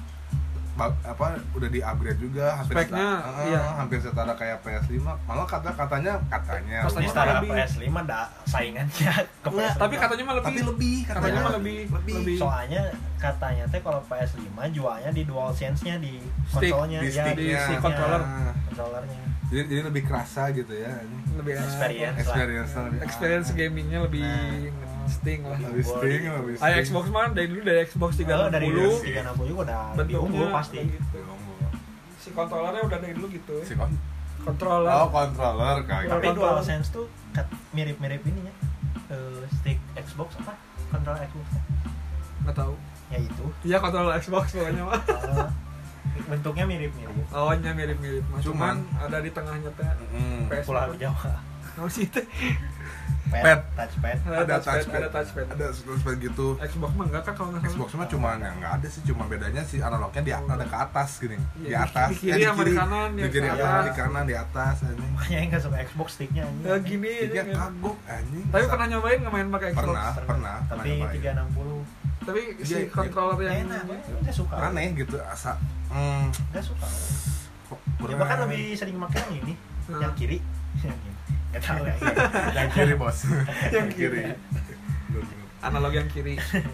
ba- apa udah di-upgrade juga hampir Speknya, setara, iya. hampir setara kayak P S lima. Malah kata katanya katanya Katanya Ini setara lebih. P S lima ada saingannya ke P S Nggak, lima. tapi katanya mah lebih. tapi lebih Katanya mah lebih lebih. Soalnya katanya teh kalau P S lima jualnya di DualSense-nya di Stick, konsolnya di ya, sticknya. di stick controller. Nah, Controllernya. jadi, jadi lebih kerasa gitu ya ini. lebih enak. Experience. Experience lebih Experience gamingnya lebih Nah. sting lah. lebih sting lebih Ayo sting. Xbox mah dari dulu dari Xbox tiga Oh, enam dari puluh tiga enam puluh juga udah lebih bentuknya unggul pasti. udah gitu. Si kontrolernya udah dari dulu gitu. Si kon- Controller. oh controller kayak Tapi gitu. DualSense tuh kat- mirip-mirip ininya. Eh, stick Xbox apa? Controller Xbox. Nggak tahu. Ya itu. Iya controller Xbox pokoknya mah. Eh, bentuknya mirip-mirip. Awalnya mirip-mirip mah. Cuman, Cuman- ada di tengahnya teh Mm. P S Pulau Jawa. Oh sih teh. Pad, Pad. touchpad. ada touchpad, touchpad ada touchpad. ada touchpad gitu. Xbox mah enggak kan kalau nggak salah. Xbox mah cuma yang nggak ada sih, cuma bedanya si analognya di ada ke atas gini, di Iya, atas, di kiri eh, sama di kanan, di di kiri atas. apa, di kanan, di atas, anjing. Makanya yang nggak suka Xbox sticknya anjing. Ya gini Dia aja, kagok anjing. Tapi Sa- pernah nyobain nggak main pakai Xbox? Pernah, pernah, Tapi pernah nyobain. tiga enam puluh Tapi si Iya, controller yang enak, nggak suka. aneh gitu asa. Hmm, Nggak suka. kok Ya bahkan lebih sering pakai yang ini, Hmm. yang kiri. Yang kiri. Nggak tahu ya. yang kiri bos, yang kiri. analog yang kiri.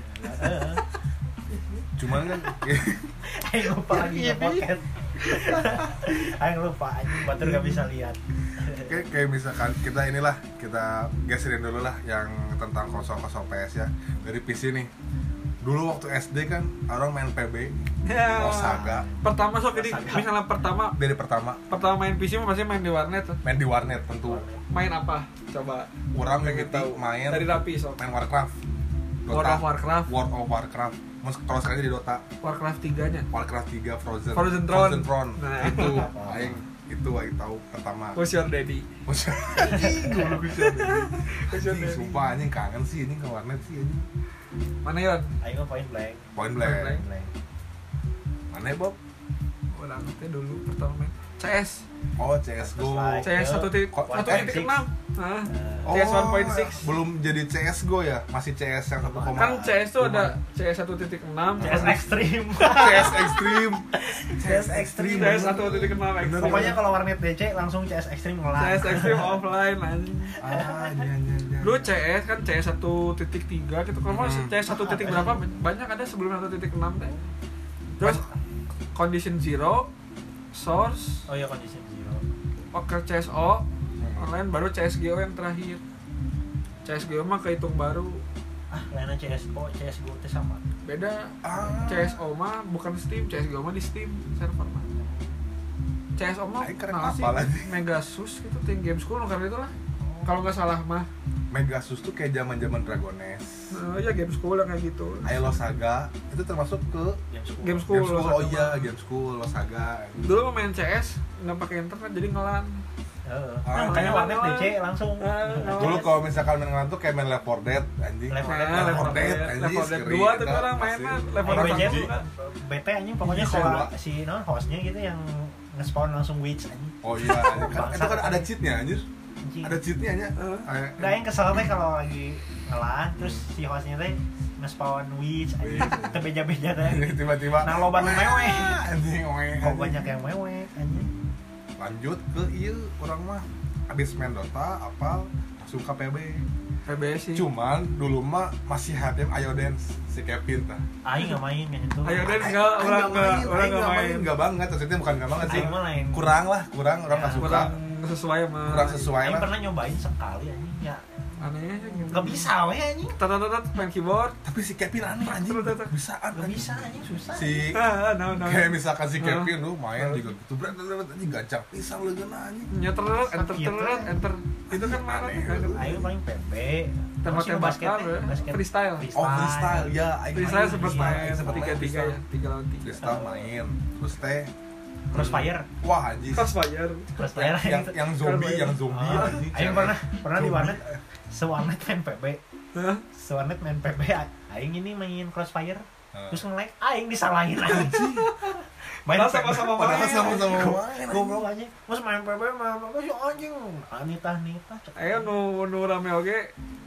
Cuman kan Ayo lupa lagi Yang nge podcast. Ayo lupa, anjing batur nggak bisa lihat. kayak, kayak misalkan kita inilah kita geserin dulu lah yang tentang konsol-konsol P S ya dari P C nih. Dulu waktu S D kan orang main P B, Ya. oh Saga Pertama sok jadi Saga. misalnya pertama dari pertama pertama main P C mah pasti main di warnet. main di warnet tentu. Main apa? Coba. Orang Pengen begitu tahu. main Dari Rapi sok. main Warcraft, World of Warcraft. World of Warcraft. Mus- Kalau sekarang jadi Dota, Warcraft tiga-nya. Warcraft tiga Frozen, Frozen Throne. Frozen Throne. Nah. Itu aing itu aing tahu pertama. Who's your daddy? Mus- Anjing, dulu gue sih. Who's your Anjing, daddy? sumpah anjing kangen sih ini ke warnet sih anjing. Mana Yon? Ayo mah point blank. Point Point blank. blank. Blank. Mana ya, Bob? Orang teh dulu pertama main. C S. Oh, C S G O. Counter-Strike. C S satu titik Ko- satu titik enam. Nah, Oh, C S satu titik enam. belum jadi C S G O ya, masih C S yang satu koma. Kan C S tuh ada C S satu titik enam, C S Extreme. C S Extreme. C S Extreme. C S satu titik enam Extreme. Pokoknya kalau warnet D C langsung C S Extreme C ngelang. S Extreme offline anjing. Ah, iya iya iya. Dulu C S kan C S satu titik tiga gitu. Kalau mau Hmm. C S satu titik berapa banyak ada sebelum satu titik enam teh. Terus Condition Zero, Source, Oh iya kondisi zero. Oke C S O, online baru C S G O yang terakhir. C S G O mah kehitung baru. Ah, lainnya C S O, C S G O teh sama. Beda. Ah. C S O mah bukan Steam, C S G O mah di Steam server mah. C S O mah Ay, keren nah, sih apa lagi? Megasus gitu, ting game school karena itu lah. Kalau nggak salah mah. Megasus tuh kayak zaman-zaman Dragones. Nah, ya game school yang kayak gitu. Ayo Saga itu termasuk ke Game school. Game school. Game School. Saga Oh iya, mah. Game School, Saga. Dulu mah main C S nggak pakai internet jadi ngelan. Heeh. Ah, Makanya iya. warnet D C langsung. Ah, Dulu kalau misalkan main ngelan tuh kayak main Left four Dead anjing. Left four Nah, Dead, Left four Dead, anjing, Left four Dead scary, dua tuh kita orang pasti. mainnya Left four Ayo Dead B J satu M, kan. B T anjing pokoknya Bisa, kalau Pak. si non hostnya gitu yang nge-spawn langsung witch anjing. Oh iya, anjing. Kan itu kan ada cheatnya anjir. Anjing. Ada cheatnya nya. Eh. Kayak- Enggak yang kesel teh kalau lagi ngelan terus si hostnya teh nge-spawn witch anjing. Teu beja-beja teh. tiba-tiba Nah, loba nu mewek. anjing oe. Kok banyak yang mewek anjing. Lanjut ke ieu orang mah abis main Dota apal langsung ke P B. P B S sih. Cuman dulu mah masih hatem Ayo Dance si Kevin tah. Aing enggak main kan itu. Ayo Dance Aing- enggak, Aing orang nggak enggak, main, orang Aing enggak nggak main. Enggak banget, maksudnya bukan enggak banget sih. Aing mah lain. Kurang lah, kurang orang Ya, nggak suka. Kurang sesuai sama Kurang sesuai Aing lah. pernah nyobain sekali anjing ya. anehnya gitu. Enggak bisa we anjing. Tat-tat-tat main keyboard. Tapi si Kevin aneh anjing. Bisaan Enggak bisa anjing susah. Si Ah, no no. kayak misalkan si Ah. Kevin lu main juga gitu berat berat anjing gacang pisang lu geuna anjing. Nyeter enter Sakit, enter ya. enter. Itu kan Aneh. mana kan? Aing paling P B. Tembak-tembakan, ya. Freestyle. Oh freestyle ya, aing Freestyle main, sempat freestyle, main sempet tiga main tiga freestyle. ya, tiga lawan tiga. Freestyle main, terus teh Crossfire. wah anjing. Crossfire. Crossfire yang yang zombie, yang zombie Oh, anjing. Aing pernah pernah di warnet sewarnet main P B. Hah? Sewarnet main P B. Aing ini main Crossfire. Heeh. Terus nge-lag aing disalahin anjing. Main Padahal P B. sama-sama Padahal main. sama-sama main. Goblok anjing. Mas main P B mah apa sih anjing? Anita Anita. Ayo nu nu rame oge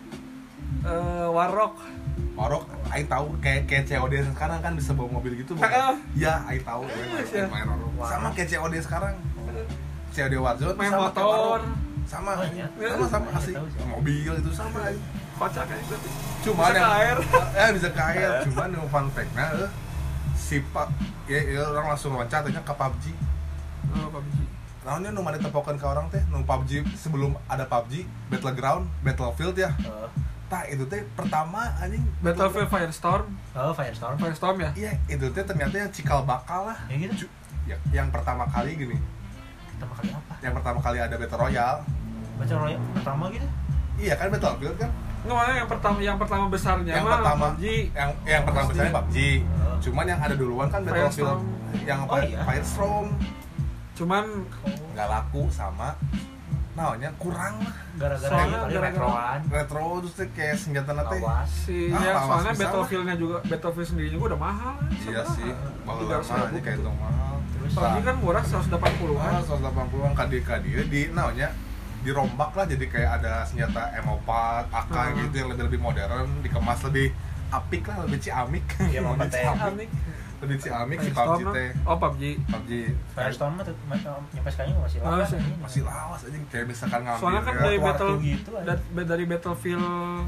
eh Warrock. Marok, aing tahu kayak kayak C O D sekarang kan bisa bawa mobil gitu. Heeh. Iya, aing tahu gue main Iya. main Marok. Sama kayak C O D sekarang. C O D Warzone Main sama kayak motor. Marok. Sama, Oh, iya. sama sama Iya, asli. tahu sih. Mobil itu sama. aing. Kocak kayak gitu. Cuma Bisa ke air. eh bisa ke air. Cuman yang fun fact-nya eh, si Pak ya, ya orang langsung loncat aja ke P U B G. Oh, P U B G. Naonnya nu mana tepokan ke orang teh, nu P U B G sebelum ada P U B G, Battleground, Battlefield ya. Oh, Tah itu teh pertama anjing Battlefield Firestorm. oh Firestorm. Firestorm ya? Iya, itu teh ternyata yang cikal bakal lah. Ya gitu. Ju- ya, yang pertama kali gini, Pertama kali apa? yang pertama kali ada Battle Royale. Baca royal pertama gitu. Iya kan Battlefield kan? Nggak, mana yang pertama yang pertama besarnya yang mah pertama P U B G. yang yang pertama misalnya P U B G. Oh. Cuman yang ada duluan kan Battlefield Firestorm. yang Oh, apa? iya. Firestorm Cuman nggak laku sama naonnya kurang lah. Gara-gara Soalnya ini kali gara-gara- retroan. Retro terus teh kayak senjata nate. Lawas. si Ah, ya, lawas soalnya bisa Battlefieldnya juga Battlefield sendiri juga udah mahal. Iya sebenarnya. sih, bahwa Tiga lama ratus aja kayak itu mahal. Terus P U B G kan murah seratus delapan puluhan. Ah, seratus delapan puluhan kadi kadi di naonnya dirombak lah jadi kayak ada senjata M empat, A K Hmm. gitu yang lebih lebih modern, dikemas lebih apik lah, lebih ciamik. Iya, mau lebih pakai ciamik. Lebih ciamik si P U B G Firestorm teh. mah- Oh, P U B G. P U B G Firestorm mah tuh- mah- nyampe sekarang juga masih Oh, lawas. sih. anjing. masih lawas aja kayak misalkan ngambil Soalnya kan ya. dari Waktu battle gitu aja. da- dari Battlefield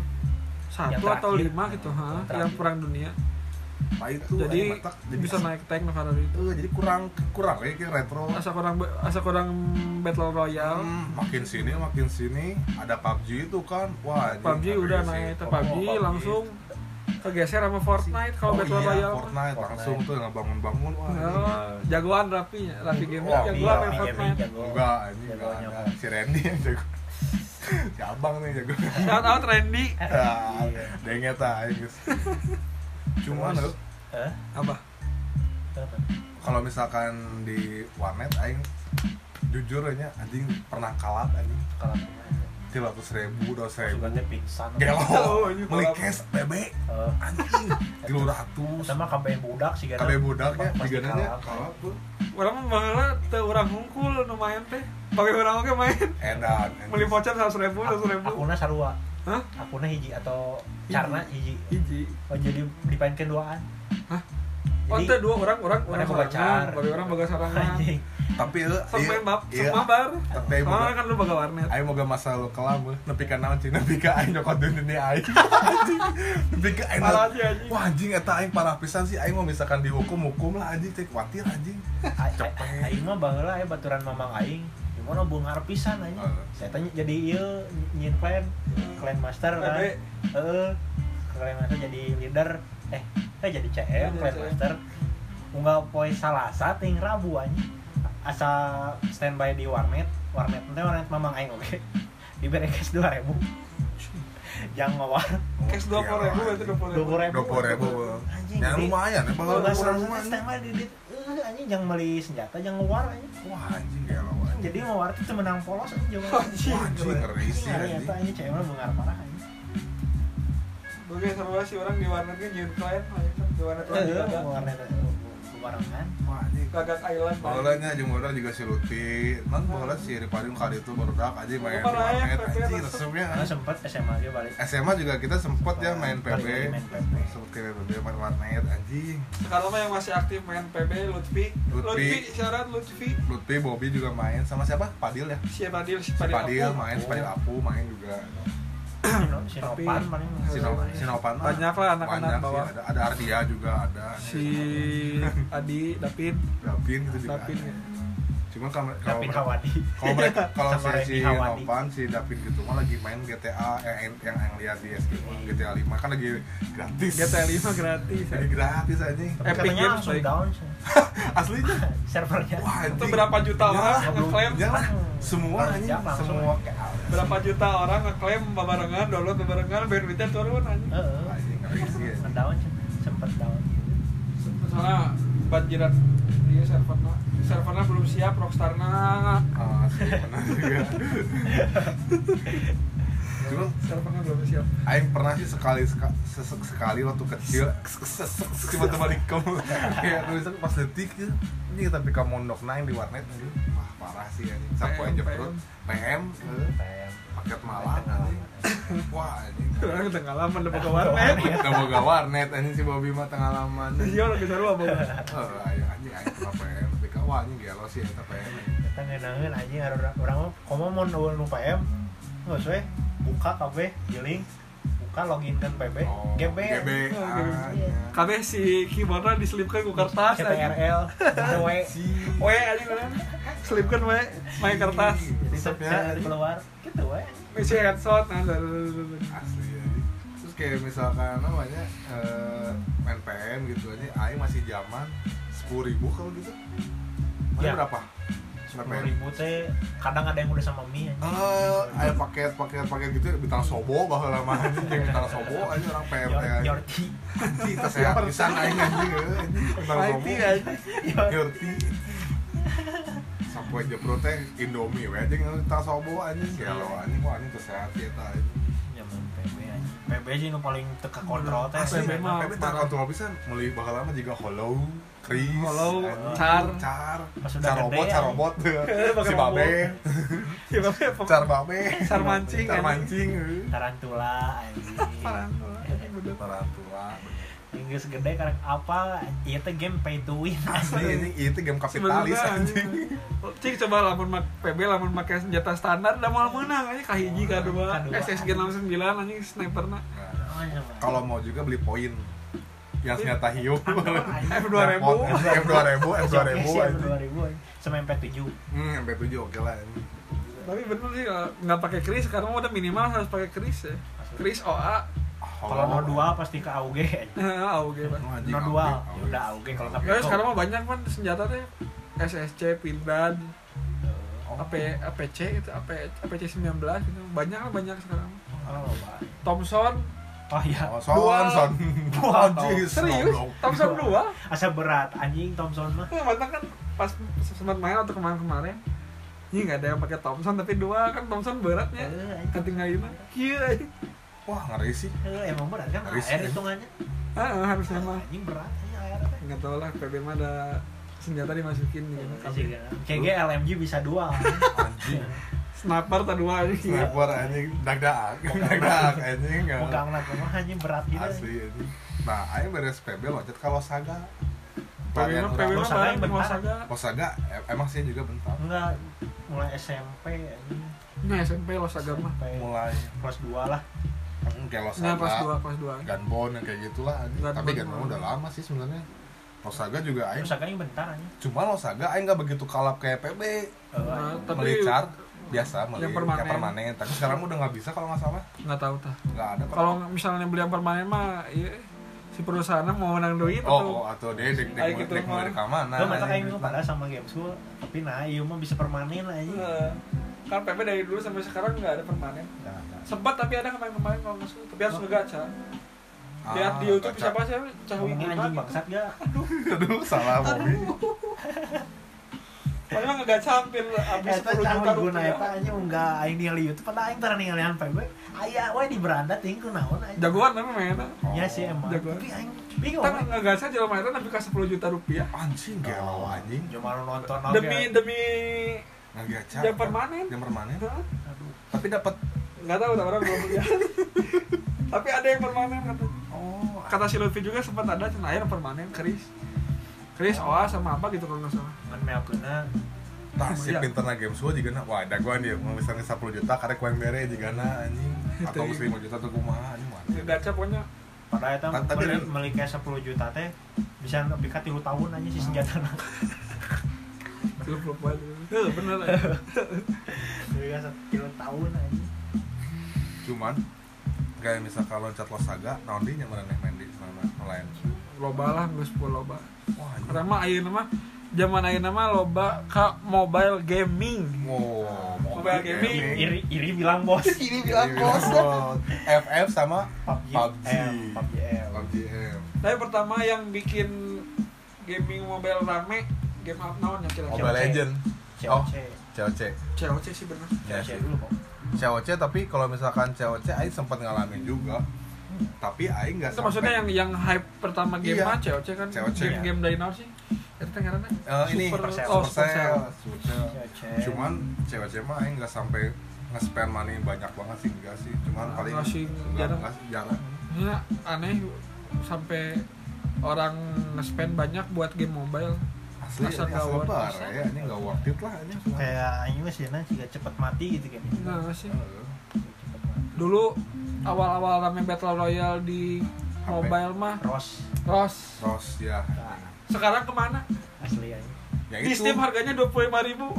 satu Yang atau terakhir. lima gitu, ha, Yang yang terakhir. perang dunia. Nah, itu Jadi aing matak, bisa naik tank no karena itu. Eh, jadi kurang kurang ya kayak retro. Asa kurang asa kurang Battle Royale. Hmm, makin sini makin sini ada P U B G itu kan. Wah, P U B G anjing, udah ada naik, sih. P U B G Oh, P U B G. langsung kegeser sama Fortnite kalau Oh Battle iya, Royale. Fortnite langsung tuh yang bangun-bangun wah. Oh, jagoan Rapi, Rapi game Wah, jagoan iya, main Rapi Fortnite. gaming jago. Enggak, ini enggak Jagoannya ada. apa? Si Randy yang jago. Si Abang nih jago. Shout out Randy. Ah, dengnya ta guys. Cuma Terus, loh, Eh? Apa? Apa? kalau misalkan di warnet aing jujur aja anjing pernah kalah anjing Kalau tiga ratus ribu, dua ratus ribu. Sugatnya pingsan. Gelo, Oh, ini beli kolab. cash bebek Eh, anjing tiga ratus. sama kabeh budak sih Kabeh budaknya Pasti digananya kalap. kalap tuh. Orang mah baheula teu urang hungkul nu main teh. Bagi urang oge main. Edan. Beli voucher seratus ribu, seratus ribu. Akuna sarua. Hah? Akuna hiji atau Hiji. carna hiji. Hiji. Oh jadi dipainkeun duaan. Hah? Oh, teh dua orang orang orang Mana boga sorangan, car. bagi orang boga sorangan. Anjing. Tapi eh, Sok main map, iya. sok mabar. Tapi aing Soalnya boga- kan lu boga warnet. aing moga masa lu kelam eh. Nepi ka naon cing, nepi ka aing nyokot dunia aing. Anjing. Nepi ka aing. Parah sih, anjing. Wah anjing eta aing parah pisan sih aing mau misalkan dihukum hukum lah anjing teh kuatir anjing. A- Cepet. a- Aing mah baheula aya baturan mamang aing. Gimana beungar pisan anjing. Heeh. Saya tanya jadi ieu nyin clan, clan master kan. Ade. Heeh. Clan master jadi leader. Eh, eh jadi C M clan Jadi C M. master. Unggal poe Salasa ting Rabu anjing. Asa standby di warnet. Warnet teh warnet mamang aing oge. Dibere cash dua ribu. Jangan ngawar. Cash dua puluh ribu berarti dua puluh ribu. dua puluh ribu. dua puluh ribu. Anjing. Ya jadi- lumayan ya Kalau bakal nggak salah lumayan. standby di di eh, anjing jangan beli senjata, jangan ngawar anjing. Wah anjing ya lo anjing. Jadi ngawar itu cuma menang polos aja. Anjing. Wah, anjing ngeri sih Ngeri anjing. eta anjing cewek mah beungar parah anjing. Oke, seru sih orang di warnet kan nyeun klien lah itu. Di warnet orang Heeh, gagak. warnet barengan. Wah anjing. Gagak Island. Baheulanya jeung baheula juga si Luti. Man baheula si Ripadim kali itu barudak aja main di Parah ya, warnet P P anjing resep. resepnya. Karena sempet S M A ge balik. S M A juga kita sempet ya main P B. Balik lagi main P B. Sempet ke P B main warnet anjing. Sekarang mah yang masih aktif main P B Lutfi. Lutfi. Lutfi, syarat Lutfi. Lutfi, Bobby juga main sama siapa? Padil ya. Si Padil, si Si Padil. Padil Apu. main, si Padil Apu main juga. Sino- Tapi- Sinopan paling. Sino Sinopan mah Banyak lah anak-anak banyak sih. bawah. Ada ada Ardia juga ada. Si Adi, David, Davin gitu juga. David. ada. Cuma kalau kalau David mereka- Hawadi. kalau mereka kalau Sama si si Randy Hawadi. Nopan si David gitu mah lagi main G T A yang yang yang, yang lihat di S G G T A lima kan lagi gratis. G T A lima gratis. Lagi gratis aja. Tapi Epic katanya Games, langsung baik. down sih. Aslinya. Servernya. Wah, Itu anjing. berapa juta Ya, orang belum- ngeklaim? Ya lah, semua Langsung anjing, langsung. semua kayak Berapa juta orang ngeklaim babarengan, download babarengan, bayar duitnya turun anjing. Heeh. anjing ngeri sih. anjing. Ngedown sih. Sempet down. Soalnya banjiran di servernya. Servernya belum siap, Rockstarna. Ah, sih, benar juga. Cuma Servernya belum siap. Aing pernah sih sekali seka- sesek sekali waktu kecil tiba-tiba di kamu kayak tulisan pas detik gitu ini tapi kamu mondok naik di warnet ini wah parah sih anjing sapu aja perut P M eh, P M. paket malam anjing wah anjing Orang udah ngalaman udah buka warnet. udah boga warnet anjing si Bobby mah tengah laman Iya lagi seru apa? eh ayo anjing aing pernah P M tapi kau anjing gelo sih eta P M Kita ngeunangeun anjing urang urang mah komo mun eueun nu P M. Geus we buka kabeh giling buka login kan P B Oh, G B G B Oh, ah, G B. ya. Kabeh si keyboardnya diselipkan ke kertas. C T R L W Si We anjing kan. Selipkan we main kertas. jadi Resepnya, saya anjing. keluar gitu we Isi headshot nah. asli ya terus kayak misalkan namanya eh, main P M gitu aja aing masih zaman sepuluh ribu kalau gitu mana Ya. berapa sepuluh ribu teh kadang ada yang udah sama mie anjing. eh ada paket paket paket gitu bintang sobo bahwa lama anjing yang bintang sobo aja orang P M teh Yor- anjing Yorti anjing tas sehat pisan aing anjing eh, anjing bintang sobo Mighty anjing. Yorti sampai aja pro teh Indomie we anjing bintang sobo anjing ya lo anjing wah anjing tas sehat sih eta anjing zaman P B anjing P B sih nu paling teka kontrol teh Asli, P B mah P B tak kontrol pisan meuli bakal lama juga hollow, Chris, Hollow, anjing, Char. Char, Pas udah Char gede, robot, Char anjing. robot, Pakai si robot. Babe, Ya babe apa? Char Babe, Char mancing, Char anjing. mancing, eh. tarantula anjing Tarantula, anjing, bener. Tarantula. yang geus gede karek apa ieu teh game pay to win Asli ini itu game kapitalis Sebenarnya anjing. Cik coba lamun mak P B lamun make senjata standar udah mau menang aja kahiji kadua Kadua. S S G enam puluh sembilan anjing sniperna. Nah, kalau mau juga beli poin yang senjata hiu F dua ribu. F dua ribu F dua ribu F dua ribu sama M P tujuh hmm M P tujuh oke lah anjing. Tapi bener sih kalau nggak pakai kris sekarang udah minimal harus pakai kris ya. Kris O A. kalau no dua pasti ke A U G A U G Pak. Oh, anjing, no A U G, dua A U G. udah A U G kalau nggak Ya sekarang mah banyak kan senjata teh S S C, Pindad, A P A P C itu A P A P C sembilan belas gitu. Banyak lah banyak sekarang. oh baik Thompson oh iya Oh, son, Dua. son. Dua, Anjing, serius goblok. Thompson dua. asa berat anjing Thompson mah Ya, mantan kan pas sempat main atau kemarin-kemarin ini nggak ada yang pakai Thompson tapi dua kan Thompson beratnya Eh, anjing. ketinggalan iya Wah ngeri sih. Eh, emang berat kan Risih, air ya. hitungannya ah, harusnya mah anjing berat anjing air teh nggak tahu lah P B mah ada senjata dimasukin gitu. Kayak G L M G bisa dua. Anjing. Sniper tak dua aja. Sniper anjing dag-dag. Dag-dag anjing. Pegang nak mah anjing berat gitu. Asli anjing. Nah, aing beres P B loncat ka Losaga. P B mah P B mah Losaga yang bareng bentar. Losaga. Losaga em- emang sih juga bentar. Enggak, mulai S M P anjing. Nah, S M P Losaga mah. Sampai Mulai kelas dua lah. mm, kayak Nah, kelas dua, Losaga, kelas dua. Gunbone yang kayak gitulah anjing. Gunbone Tapi Gunbone mah. udah lama sih sebenarnya. Losaga juga aing. Losaga yang bentar anjing. Cuma Losaga aing enggak begitu kalap kayak P B. Nah, tapi Melicar biasa meli yang permanen. kayak permanen. Tapi sekarang udah nggak bisa kalau nggak salah. nggak tahu tah. Nggak ada kok. Kalau misalnya beli yang permanen mah iya, si perusahaannya mau menang duit Oh, tuh. oh, atau dia dek dek Kayak dek gitu dek mah. mau ke mana? Gue mata kayak pada sama game school, tapi nah iya mah bisa permanen anjing. Nah, kan P B dari dulu sampai sekarang nggak ada permanen. Enggak, enggak. Sempat tapi ada kemarin-kemarin kalau nggak salah. Tapi harus ngegacha. Lihat Ah, di YouTube baca. siapa sih Cahui Ngomongin Guna anjing gitu. bangsat gak? Aduh, salah Bobby. Padahal ngegacha hampir habis Eta sepuluh juta cawe guna rupiah. eta anjing enggak aing ningali YouTube pada aing tara ningalian P B. Aya we di beranda ting kunaon anjing. Jagoan namanya mainnya. Ya sih emang. Jagoan. Tapi aing bingung. Kita anjing. ngegacha jelema itu tapi kasih sepuluh juta rupiah. Anjing gelo anjing. Cuma lu nonton oge. Demi demi Ngagaca. Yang permanen. Yang permanen. Hah? Aduh. Tapi dapat Nggak tahu tak orang belum lihat. Tapi ada yang permanen kata. oh, Kata si Lutfi juga sempat ada cina air permanen keris. Keris oa sama apa gitu kalau nggak salah. Ngan meakeuna tah si Iya. pinterna game semua juga na. Wah, dagoan dia mau misalnya sepuluh juta karek kuen bere juga na anjing. Atau Itu. lima juta tuh kumaha anjing mah. Ngegacha pokoknya pada eta Ta- tapi meuli kan- meuli kayak sepuluh juta teh bisa nepi ka tilu tahun aja si senjatana. lu belum buat. Tuh bener. Nepi ka tilu tahun aja. Cuman kayak misalkan loncat Losaga, naon di nya maraneh main di mana lain. Loba lah geus sepuluh loba. Wah, anjing. Karena mah ayeuna mah zaman ayeuna mah loba ka mobile gaming. Wow, Mobile gaming. Iri iri bilang bos. Ini bilang Iya, bos. F F sama P U B G. P U B G. M, P U B G M. P U B G M. Tapi pertama yang bikin gaming mobile rame game apa naon ya kira-kira? Mobile Legend. C Oh, O C. C O C. C O C sih bener. C O C dulu kok. C O C tapi kalau misalkan C O C aing sempat ngalamin juga. Tapi aing enggak Itu maksudnya yang yang hype pertama game Iya. mah C O C kan. C O C, game ya. game dari naon sih? Itu teh ngaranna? Eh, ini Super- Supercell. oh, Supercell, Supercell. Supercell. C O C. Cuman C O C mah aing enggak sampai nge-spend money banyak banget sih enggak sih. Cuman Ah, paling enggak sih, enggak, jarang. enggak sih, jarang. Ya aneh sampai orang nge-spend banyak buat game mobile. Asli Asa ini nggak asli worth lebar it. ya, ini enggak worth it lah ini. Kayak aing mah sih juga cepet mati gitu kan. Enggak sih. Heeh. Dulu awal-awal rame Battle Royale di H P. mobile mah Ross Ross. Terus ya. Sekarang kemana? asli aja. Ya Di itu. Steam harganya dua puluh lima ribu.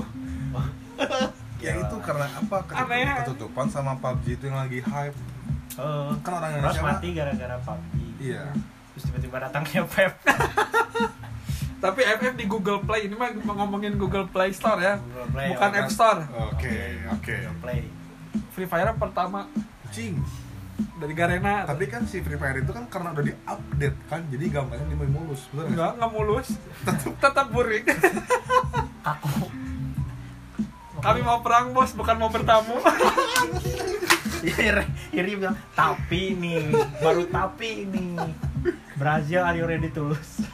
Ya itu karena apa? Ketutup- Aneh. Ketutupan sama P U B G itu yang lagi hype. Oh, Kan orang Ross Indonesia mah- mati gara-gara P U B G. Iya. Terus tiba-tiba datang ke Pep. Tapi F F di Google Play ini mah ngomongin Google Play Store ya. Google Play, Bukan oh, App Store. Oke, oke. Google Play. Free Fire pertama Cing. dari Garena. Tapi kan si Free Fire itu kan karena udah di-update kan, jadi gambarnya dia mulus, betul nggak? enggak enggak mulus. Tetap tetap burik. Kaku. Kami mau perang, Bos, bukan mau bertamu. Iri, Iri bilang, tapi nih, baru tapi nih. Brazil, are you ready to lose?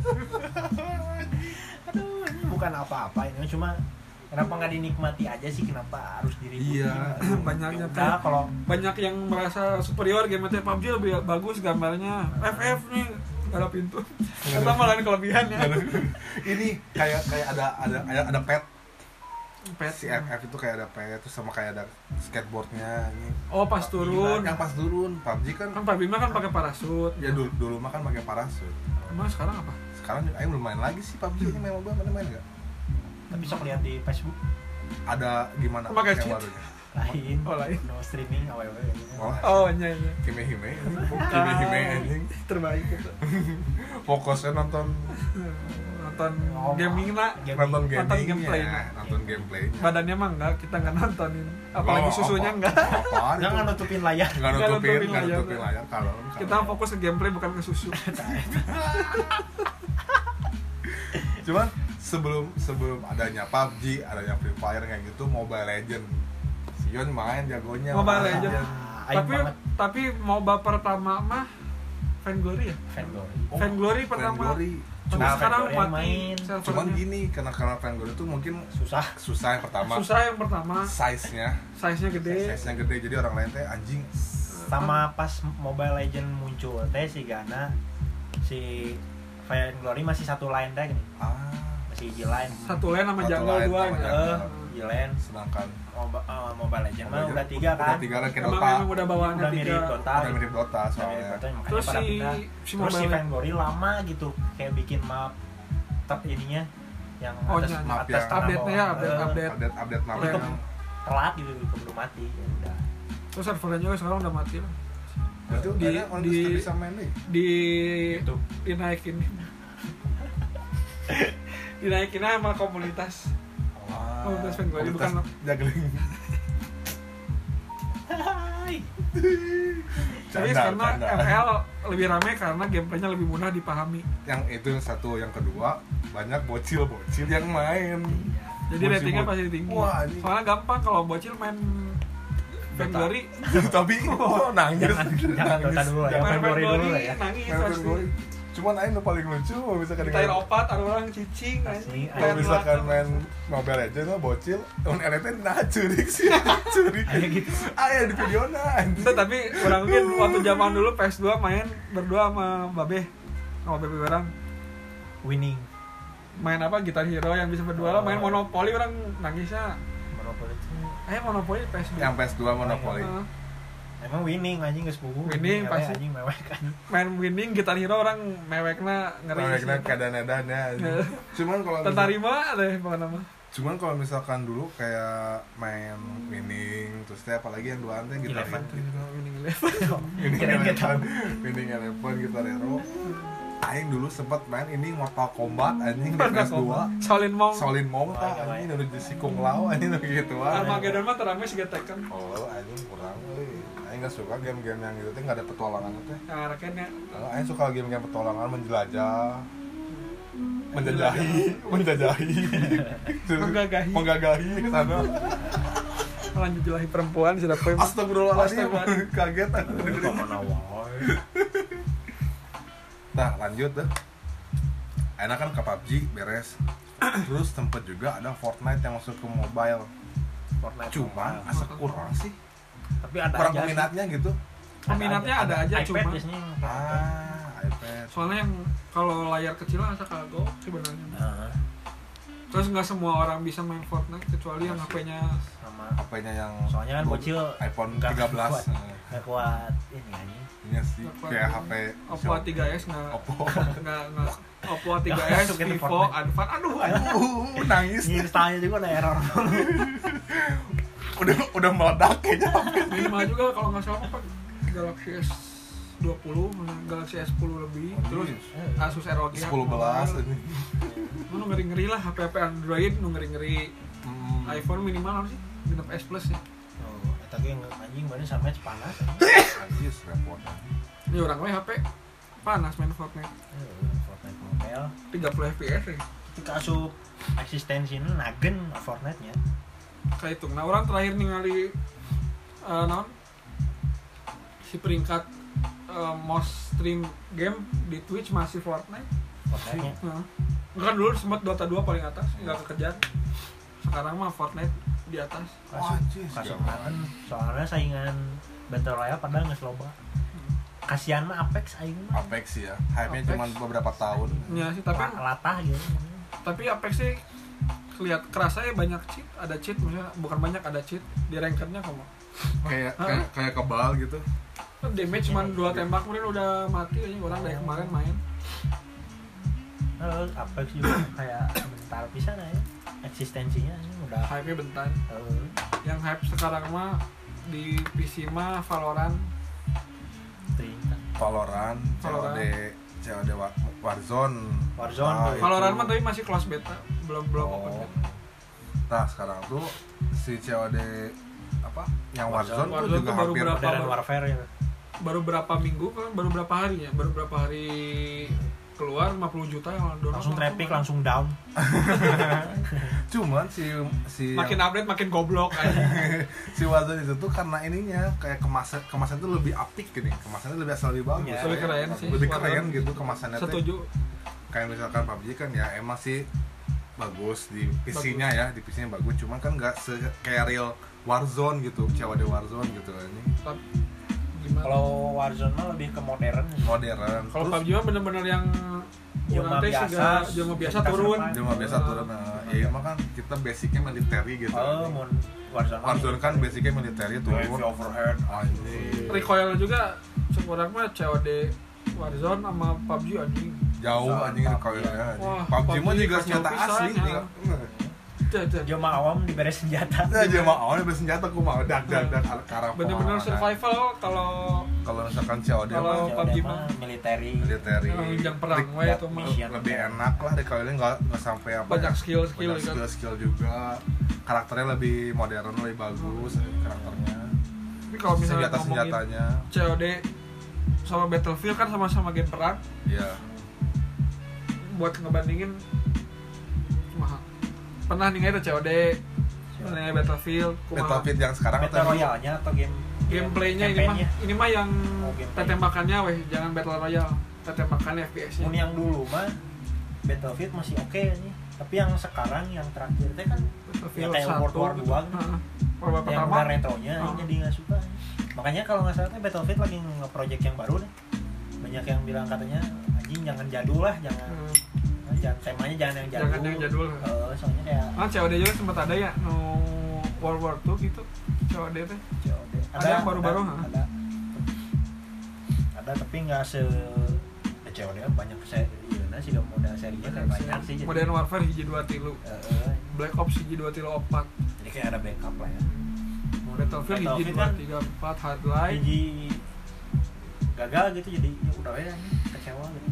Aduh, ini bukan apa-apa ini, cuma kenapa nggak dinikmati aja sih, kenapa harus diributin? Iya. Banyaknya Nah, kalau banyak yang merasa superior game P U B G lebih bagus gambarnya. F F nih nggak ada pintu. Kita malah kelebihannya. Ini kayak kayak ada ada ada, ada pet. Pet. Si F F itu kayak ada pet, terus sama kayak ada skateboardnya. Ini. Oh pas turun. Yang pas turun, P U B G kan. Kan P U B G mah kan pakai parasut. Ya dulu dulu mah kan pakai parasut. Emang sekarang apa? Sekarang Aing belum main lagi sih P U B G ini, main mobile, mana main nggak? tapi sok lihat di Facebook Ada gimana Pakai yang cheat. barunya? lain, Oh, lain. no streaming, aww gitu. Oh, Oh iya iya. Hime-hime, Hime-hime anjing. Terbaik itu. Fokusnya nonton Nonton Oh, gaming lah. nonton Nonton gaming gameplaynya. nonton gameplaynya. Badannya mah enggak, kita enggak nontonin. Apalagi Oh, susunya apa- enggak. Apaan itu? Jangan nutupin layar. Nggak Nggak nutupin, nutupin nggak layar. nutupin layar kalau Kita fokus ke gameplay bukan ke susu. Cuman sebelum sebelum adanya P U B G, adanya Free Fire kayak gitu, Mobile Legend. Sion main jagonya. Mobile Legend. Aing tapi banget. tapi MOBA pertama mah Vainglory ya? Vainglory. Oh, Vainglory pertama. Vainglory. Cuma Nah, sekarang Vainglory yang mati main. servernya. Cuman gini, karena karena Vainglory itu mungkin Susah. susah yang pertama. Susah yang pertama, Size-nya, size-nya gede. size-nya gede, jadi orang lain teh anjing. Sama pas Mobile Legend muncul teh si Gana si Vainglory masih satu line teh gini. Ah, Masih hiji line. Satu lane sama Satu jungle line dua sama gitu. jungle. Eh, hiji line. sedangkan Moba- eh, Mobile Legend mah Mobile udah tiga udah kan. tiga lagi kayak Emang, Dota. emang udah bawaannya Udah mirip tiga. Dota. Udah mirip Dota Udah mirip soalnya. Dota, makanya Terus pada si pindah. si Terus si Mobile Vainglory lama gitu kayak bikin map top ininya yang Oh, atas, iya, map atas yang tanah update-nya ya, bawah. update- Eh, update. Update update map Itu Iya. yang telat gitu keburu mati ya udah. Terus servernya juga sekarang udah mati lah. berarti Di- kayaknya orang di- tuh bisa main nih. Di Gitu. dinaikin. dinaikin aja sama komunitas. Wah, Komunitas Vainglory komunitas bukan juggling. Hai. Jadi Canda, karena canda. M L lebih rame karena gameplaynya lebih mudah dipahami. Yang itu yang satu, yang kedua banyak bocil-bocil yang main. Jadi Bocil- ratingnya bo- pasti tinggi. Wah, ini- Soalnya gampang kalau bocil main Vainglory, Tapi oh, nangis. Jangan jangan Dota dulu lah ya. Jangan main Vainglory dulu lah ya. nangis Main pasti. Vainglory. Cuman aing nu paling lucu kalau misalkan Ditair opat, ada orang cicing, Asli, anjing. kalau Kayak misalkan neraka. main Mobile Legends mah bocil, on L T nah curik sih, curik. Kayak gitu. Aya di video nah. Itu tapi orang mungkin waktu zaman dulu P S dua main berdua sama Babe, sama Babe orang Winning. main apa Guitar Hero yang bisa berdua lah, main Monopoly orang nangisnya. Monopoly itu Eh Monopoly P S dua. Yang P S dua Monopoly. Heeh. emang winning anjing geus puguh. Winning, Ngewe pasti. anjing mewek kan. Main winning Guitar Hero orang mewekna ngeri. Mereka sih. keadaan-edan ya. Heeh. Cuman kalau misal- Tentarima ada apa nama? cuman kalau misalkan dulu kayak main winning terus teh apalagi yang duaan teh gitar Eleven. Winning Eleven. winning Kirain nggak eleven winning eleven gitar hero aing dulu sempet main ini Mortal Kombat anjing di P S dua Shaolin Monk. Solin Mong Oh, tah iya, anjing iya. udah di Kung Lao anjing udah gitu Armageddon mah terame sih Tekken. oh anjing kurang euy aing enggak suka game-game yang gitu teh enggak ada petualangan teh Yang arakennya kalau aing suka game-game petualangan menjelajah menjajahi menjajahi Menggagahi. menggagahi ke sana lanjut jelahi perempuan sudah poin. astagfirullahaladzim Astagfirullah. kaget aku dengerin. Mana wae. Nah lanjut deh. Enak kan ke P U B G beres. Terus tempat juga ada Fortnite yang masuk ke mobile. Fortnite. Cuman asa kurang sih. tapi ada Kurang aja sih. peminatnya gitu. Peminatnya ada aja, iPad cuma- biasanya yang pakai iPad. Ah, iPad. Soalnya yang kalau layar kecil asa kagok sebenarnya. Nah, Terus nggak semua orang bisa main Fortnite kecuali yang H P-nya sama H P-nya yang soalnya kan dua- bocil iPhone nggak tiga belas. kuat. Nggak kuat ini anjing. Iya sih, Nggak kuat. kayak H P Oppo A tiga S nggak Oppo. nggak nggak Oppo A tiga S, Masukin ke Vivo, Fortnite. Advan, aduh, Uh, nangis. Ini installnya juga ada error. Udah udah meledak kayaknya. minimal juga kalau nggak salah apa Galaxy S dua puluh, Galaxy S sepuluh lebih, terus Asus R O G sepuluh belas ini. nu ngeri-ngeri lah, H P H P Android nu ngeri-ngeri. Hmm. iPhone minimal apa sih? Genep S Plus ya. Oh, eta ge anjing baru sampai panas. Anjis repot. Ini orang lain H P panas main Fortnite. Eh, Fortnite Mobile. tiga puluh F P S ya. Ketika asup eksistensinya nagen Fortnite-nya. Kayak itu. Nah, orang terakhir ningali uh, naon? Si peringkat uh, most stream game di Twitch masih Fortnite. Fortnite-nya. Nah, kan dulu sempat Dota dua paling atas, nggak kekejar. Sekarang mah Fortnite di atas. Wah, anjis. Kasihan soalnya saingan Battle Royale padahal nggak loba. Kasihan mah Apex aing mah. Apex sih ya. Hype-nya Apex. cuma beberapa tahun. Ya sih, tapi La- latah gitu. tapi Apex sih kelihat kerasa ya banyak cheat, ada cheat misalnya bukan banyak ada cheat di rankernya kamu. Kayak Hah? kayak kayak kebal gitu. Damage cuma dua tembak kemudian udah mati aja orang dari kemarin main. Terus Apex juga kayak bentar pisan aja eksistensinya ini udah. Hype-nya bentar. eh, Yang hype sekarang mah di P C mah Valorant. Tingkat. Valorant, C O D, C O D Wa- Warzone. Warzone, Nah, tuh. itu. Valorant mah tapi masih close beta, belum belum Oh. open beta. Nah, sekarang tuh si C O D apa? Yang Warzone, Warzone tuh tuh juga baru hampir berapa- Modern Warfare ya. Baru berapa minggu kan? Baru berapa hari ya? Baru berapa hari keluar lima puluh juta yang download langsung traffic langsung down. Cuman si si makin yang, update makin goblok aja. si Warzone itu tuh karena ininya kayak kemasan kemasan itu lebih apik gini, kemasannya lebih asal lebih bagus, Ya, lebih keren sih. lebih Warzone. keren gitu kemasannya. teh. Setuju. Kayak misalkan P U B G kan ya emang sih bagus di P C-nya ya, di P C-nya bagus, cuman kan nggak se kayak real Warzone gitu, C O D Warzone gitu ini. Tapi gimana? Kalau Warzone mah lebih ke modern. Modern. Kalau P U B G mah bener-bener yang Jelma orang teh biasa, juga jelma biasa kita turun. serpan. Cuma biasa turun, nah, ya emang kan kita basicnya military gitu. Oh, mau Warzone. Warzone kan basicnya military turun. Heavy overhead. Anjing. Recoil juga sekurang mah C O D Warzone sama P U B G anjing. Jauh anjing kalau ya. Wah, P U B G mah juga kacau senjata pisan, asli. ya. Nih. Cek, cek. Jelma awam diberi senjata. Nah, aja mah awalnya bersenjata aku mau dak dak dak ala karang. Bener-bener survival kalau Kalau misalkan C O D Kalau- mah P U B G mah military. military. yang perang we itu mah Mission. Lebih enak lah deh kalau ini nggak nggak sampai apa. banyak ya, skill-skill banyak kan. skill-skill juga. Karakternya lebih modern, lebih bagus karakternya. Tapi kalau misalnya Senjata ngomongin senjatanya, C O D sama Battlefield kan sama-sama game perang, ya. buat ngebandingin kumaha. Pernah nih ada C O D, pernah nih Battlefield, kumaha. Battlefield yang sekarang Battle atau Royale-nya atau game Gameplaynya ini mah, campaign-nya? ini mah yang Oh, gameplay. tembakannya weh, jangan Battle Royale, tembakannya F P S-nya. Mun yang dulu mah Battlefield masih oke nih. Tapi yang sekarang yang terakhir teh kan Battlefield yang kayak satu World War gitu. dua gitu. Heeh. World War yang pertama. udah retronya Oh. jadi nggak suka. Makanya kalau nggak salah teh Battlefield lagi nge-project yang baru nih. Banyak yang bilang katanya anjing jangan jadul lah, jangan Hmm. nah, jangan temanya jangan yang jadul. Jangan yang jadul. Eh, soalnya kayak Kan C O D juga sempat ada ya, no World War two gitu, C O D teh. C O D. Ada yang baru-baru, ada, ha? ada. Ada tapi nggak se C O D kan banyak seri, iya sih gak model serinya kayak banyak sih. jadi- Modern Warfare hiji dua tilu, Eh, eh, Black Ops hiji dua tilu opat, jadi kayak ada backup lah ya. Battlefield hiji Battlefield dua kan tiga empat, Hardline. Hiji gagal gitu jadi ya udah ya kecewa gitu.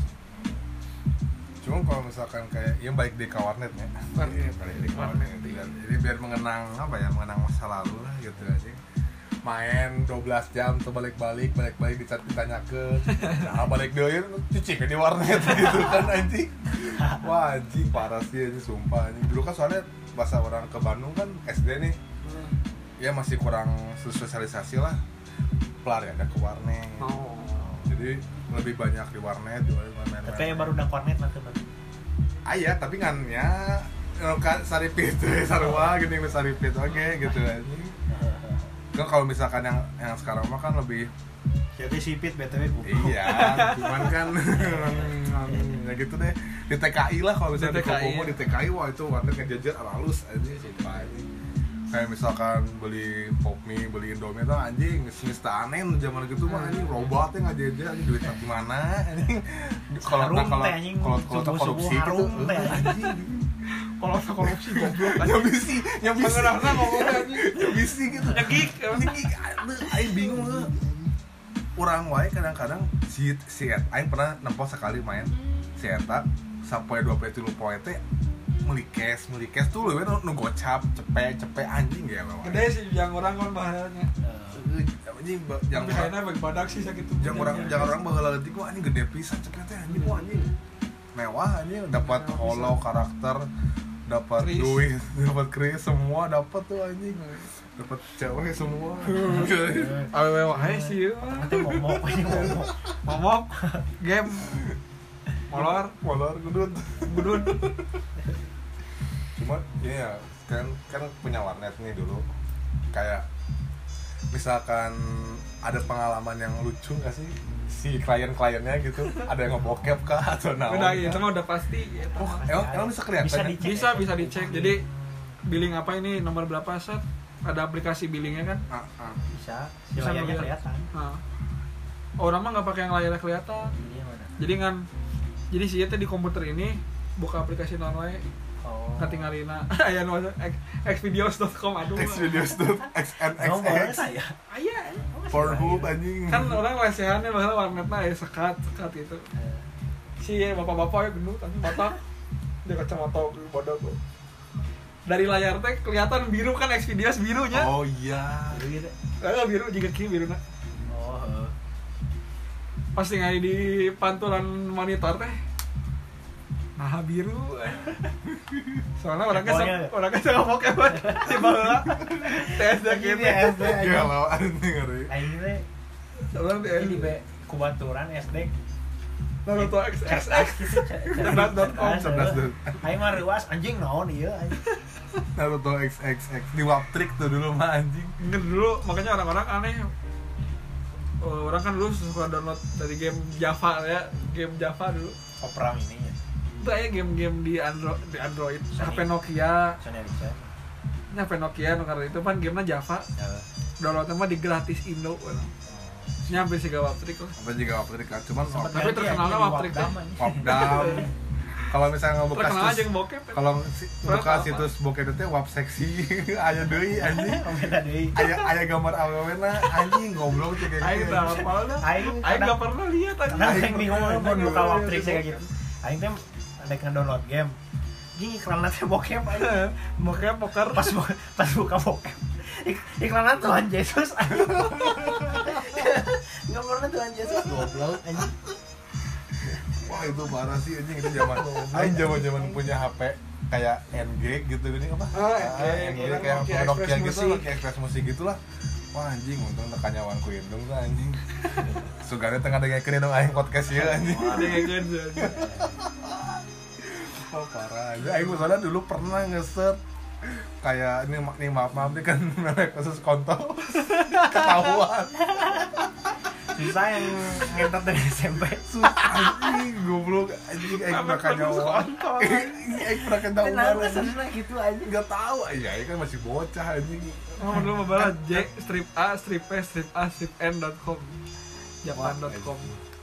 Cuma kalau misalkan kayak yang balik di kawarnet ya, Warnet. Iya, balik di kawarnet gitu kan. Jadi biar mengenang apa ya, mengenang masa lalu lah gitu aja. Main dua belas jam tuh balik-balik, balik-balik dicat ditanyakeun. Nah, balik deui cuci di warnet gitu kan anjing. Wah, anjing parah sih anjing sumpah anjing. Dulu kan soalnya bahasa orang ke Bandung kan S D nih. Ya masih kurang sosialisasi lah. Pelariannya ke warnet. Oh. Jadi lebih banyak di warnet, di warnet. Tapi kayak baru udah kornet lah teman. Aya tapi kan ya kan saripit sarua gini yang saripit oke gitu anjing. Kan kalau misalkan yang yang sekarang mah kan lebih Jadi sipit B T W buku. iya, cuman kan ya gitu deh. Di T K I lah kalau misalnya di Di T K I, Kokomo di T K I wah itu warnet ngejajar halus anjing sumpah anjing. Kayak misalkan beli pop mie, beli Indomie tuh anjing semesta aneh zaman gitu mah anjing robotnya ngajajar anjing duit dari mana anjing. Kalau Harum nah, kalau teh, anjing. kalau kalau tak Subuh-subuh korupsi gitu harum teh, anjing. Kalau tak korupsi goblok kan. Ya bisi, ya bisi. Pengenahna ngomongnya anjing. Ya bisi gitu. Nyegik. Nyegik. Aduh, aing bingung heuh. Urang wae kadang-kadang si si et aing pernah nempo sekali main si eta sampai dua puluh tiga poe teh meuli cash, meuli cash tuh leuwih nu gocap, cepet-cepet anjing ge mah. Gede sih yang orang kan bahayanya. Anjing yang Tapi kayaknya bagi badak sih sakitu. yang orang jangan orang baheula leutik mah anjing gede pisan cepet teh anjing mah anjing. Mewah anjing dapat holo karakter, dapat Kris. duit, dapat kris semua dapat tuh anjing. Dapat cewek semua. Awewe wae sih. Nanti momok ini momok. Momok game molor Molor gudut. gudun. Cuma ya kan kan punya warnet nih dulu. Kayak misalkan ada pengalaman yang lucu nggak sih si klien-kliennya gitu, ada yang ngebokep kah atau naon? Udah itu mah udah pasti ya. Oh, emang, emang bisa kelihatan? Bisa ya? dicek. Bisa bisa dicek. Jadi billing apa ini nomor berapa set? Ada aplikasi billingnya kan? Ah, ah. Bisa. Si Bisa layarnya ngeliat. kelihatan. Nah. Orang mah nggak pakai yang layarnya kelihatan. Ini yang mana? Jadi kan jadi sih di komputer ini buka aplikasi non wae Oh. katingalina aya nu xvideos dot com aduh. Xvideos tuh X N X Kamu bawa X saya. Aya. Pornhub anjing. Kan orang lesehannya bahwa warnetna aya sekat sekat gitu. Si bapak-bapak ya gendut tapi mata dia kacamata bodoh tuh. Dari layar teh kelihatan biru kan Xvideos birunya. Oh iya. Gitu. Eh biru juga ki biruna. Oh. heeh. pas ningali di pantulan monitor teh nah biru soalnya orang kan orang kan sama Pokemon si baheula T S D gitu S D aja galau aing ngeri aing teh orang di di be kubaturan S D Naruto X X X cerdas dot com cerdas dot aing mah reuas anjing naon ieu anjing Naruto X X X di Waptrick tuh dulu mah anjing. Ingat dulu makanya orang-orang aneh. Oh, orang kan dulu suka download dari game Java ya, game Java dulu. Opera ini ya. Itu ya game-game di Android, di Android. Sony. H P Nokia. Sony Ericsson. Ini H P Nokia karena itu kan gamenya Java. Ya. Downloadnya mah di gratis Indo. Nyampe sih gak Waptrick lah. Apa juga Waptrick kan, cuman Sempet Tapi ganti terkenalnya aja di Waptrick teh. Wapdam, anjing. Wapdam. Kalau misalnya ngebuka Terkenal aja situs, yang bokep. kalau si- Berapa buka apa? situs bokep itu wap seksi aya deui anjing. Beda deui. Aya aya gambar awewena anjing goblok cek kayak Aing gitu. tak hafal dah. Aing Aing kadang- gak pernah lihat aja. Karena aing bingung Aing mau buka pernah Waptrick lihat kayak gitu. Aing teh ada nge-download game. Gini iklannya teh bokep aja. Bokep poker. Pas bu- pas buka bokep. Ik- iklannya Tuhan Yesus anjing. Enggak pernah Tuhan Yesus goblok anjing. Wah itu parah sih anjing itu zaman aing zaman-zaman punya H P kayak N G gitu gini apa? Ah, N G, N G orang kayak Nokia Nokia Express gitu, Musik. Nokia Express Musik gitulah. Wah anjing untung tekan nyawan ku indung tuh anjing. Sugane tengah dengekeun dong aing podcast ieu anjing. Ada yang gitu. Oh parah. Jadi aing misalnya dulu pernah nge-search kayak ini nih maaf maaf nih kan merek kasus kontol ketahuan. Susah yang ngentot dari S M P. Anjing goblok anjing aing pernah kanyawan. Aing pernah ketahuan. Kenapa sana gitu aja? Enggak tahu aja, aing kan masih bocah anjing. Oh, dulu mau balas J strip A strip P strip A strip N dot com japan dot com.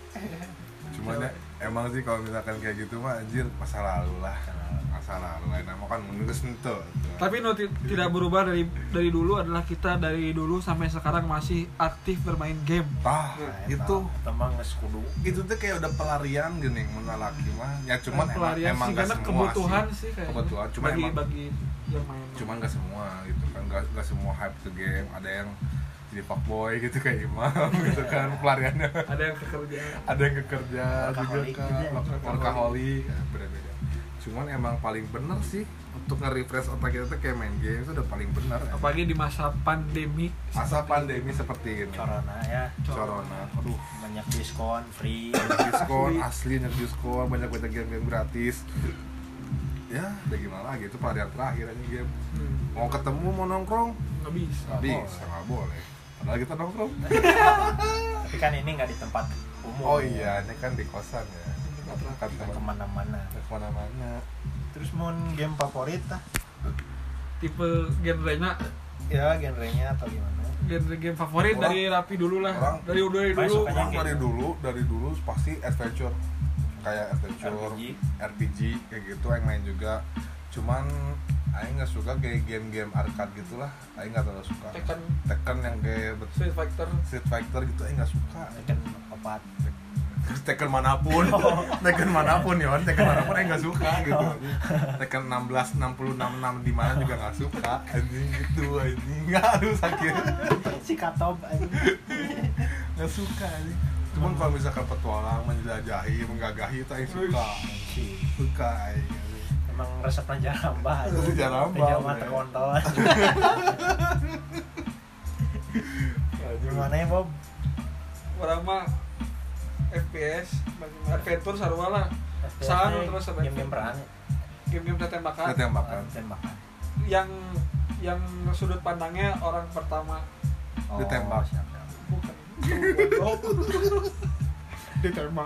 Cuman ya emang sih kalau misalkan kayak gitu mah anjir masa lalu lah. Masa lalu lah nama kan menulis itu. Tapi no, ti- tidak berubah dari dari dulu adalah kita dari dulu sampai sekarang masih aktif bermain game. Tah, itu tembang geus kudu. itu tuh kayak udah pelarian gini menurut laki mah. Ya cuman emang, Pelarian emang sih, gak karena semua kebutuhan sih. sih, kayaknya. Kebutuhan, cuman bagi emang bagi yang main. cuman gak semua gitu kan. Gak, gak semua hype ke game, ada yang jadi fuckboy gitu kayak Imam gitu kan pelariannya. Ada yang kerja. Ada yang kekerja juga Workaholic kan, juga. workaholic, ya, beda-beda. Cuman emang paling bener sih untuk nge-refresh otak kita tuh kayak main game itu udah paling bener. Apalagi di masa pandemi. Masa pandemi seperti ini. Corona ya. Corona, aduh, Banyak diskon, free. diskon asli, banyak diskon, banyak banyak game-game gratis. Ya, udah gimana lagi itu pelarian terakhir aja game. Hmm, Mau ketemu, mau nongkrong, nggak bisa. nggak bisa, nggak boleh. Padahal kita nongkrong. Tapi kan ini nggak di tempat umum. Oh iya, ini kan di kosan ya. Kan Nggak teman kemana-mana. kemana-mana. Terus mau game favorit lah? Tipe genrenya Ya genrenya atau gimana? genre game favorit Orang- dari Rapi dulu lah. orang- Dari dari Paling dulu. sukanya Orang dari dulu, dari dulu pasti adventure. Kayak adventure, R P G. R P G kayak gitu yang main juga. Cuman aing nggak suka kayak game-game arcade gitulah. Aing nggak terlalu suka. Tekken, Tekken yang kayak bet- Street Fighter. Street Fighter gitu aing nggak suka. Kan opat. Tekken manapun, Tekken manapun ya, Tekken manapun aing nggak suka gitu. Tekken enam belas enam puluh enam enam di mana juga nggak suka. Anjing gitu anjing. Nggak aduh sakit. Si Katob aja. Nggak suka anjing. Cuman kalau misalkan petualang, menjelajahi, menggagahi itu aing suka. Suka aing. Emang resepnya jarambah aja. Resep jarambah, Jangan men. terkontol. Gimana ya Bob? Orang mah F P S, adventure sarua lah. Saan terus adventure. game-game perang. Game-game tembakan. Tembakan. Tembakan. Yang yang sudut pandangnya orang pertama. Ditembak. siap. Bukan. Ditembak.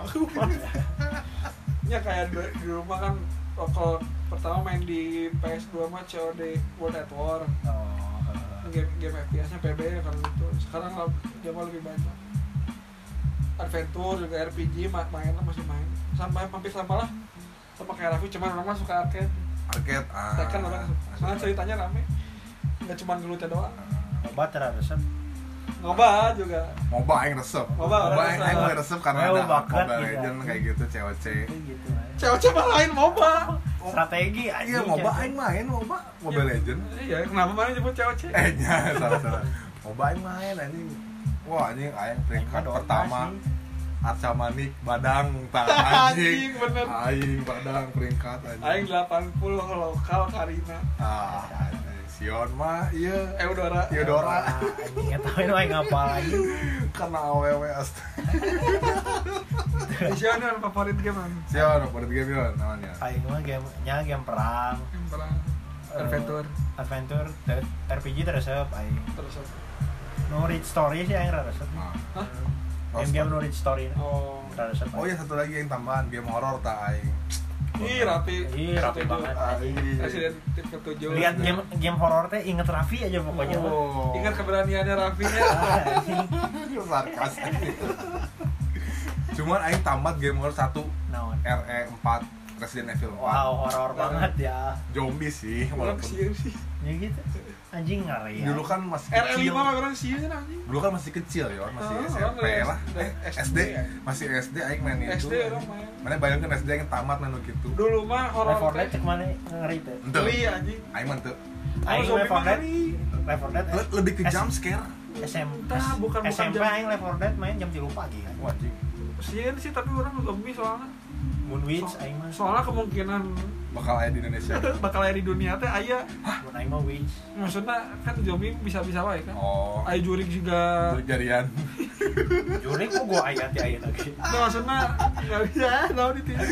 Ya kayak di, di rumah kan kalau pertama main di P S dua mah C O D World at War. Oh. Game game F P S-nya P B ya kalau itu. Sekarang lah jauh lebih banyak. Adventure juga R P G ma- main lah masih main. Sampai hampir sama lah. Sama kayak Raffi cuman orang mah suka arcade. Arcade. Ah. Tekken orang soalnya ceritanya rame. Enggak cuma gelutnya doang. Obat resep. Ngobat juga. MOBA aing resep. MOBA, MOBA aing resep. aing mulai resep karena Oh, ada bakat Mobile gitu. Legends kayak gitu C O C. Gitu aja. Cewek mah lain MOBA. Strategi aja. Iya, MOBA aing main MOBA, Mobile Legends. Iya, kenapa mana nyebut cewek? Eh, nya salah salah. MOBA aing main anjing. Wah, anjing aing peringkat Aing mah Dota pertama. sih. Arca Manik Badang tah Anjing, anjing bener. aing Badang peringkat anjing Aing delapan puluh lokal Karina. ah anjing. Sion mah iya Eudora. Theodora Ah, anjing eta we nu aing ngapal lagi. karena awewe astaga Sion yang favorit game an. Sion apa di game yon namanya Aing mah game nya game perang, Yang perang adventure. adventure, te- R P G teresep aing. Terus apa? No read story sih aing resep. Nah. Hah? Game-game no read story. Oh. Resep. oh iya satu lagi yang tambahan game horor tak aing Ih, rapi. Ih, rapi Ketujuh. banget. Aing. Resident Evil ketujuh. Lihat game game horor teh inget Raffi aja pokoknya. mah. oh Ingat keberaniannya Raffi-nya. Ah, anjing. sarkas cuman aing tamat game horor satu Naon? R E empat Resident Evil empat Wow, horor banget ya. zombie sih Orang walaupun sieun sih. Ya gitu. Anjing ngeri ya. dulu kan masih R E kecil lima mah orang sieun anjing. dulu kan masih kecil ya masih Oh, S M P orang lah dari eh, S S D D ya. masih S D aing main S itu D orang main. mana bayangkan S D yang tamat main gitu Dulu mah horor Left four Dead teh cek mana ngeri teh. ente geli anjing. aing mah ente Aing zombie Left four mah Dead, ngeri. Left four Dead. Le- lebih ke S- jump scare S M Entah, bukan- bukan S M P jam- aing Left four Dead main jam tiga pagi kan. wajib Sieun sih tapi orang zombie soalnya. Moonwitch So- aing mah. Soalnya kemungkinan bakal ada di Indonesia bakal aya di dunia teh aya. Mun aing mah witch. Maksudnya kan zombie bisa-bisa wae kan. oh Aya jurik juga. Jurik jarian Jurik kok gua aya ti aya lagi. Nah, maksudnya enggak bisa tahu di T V.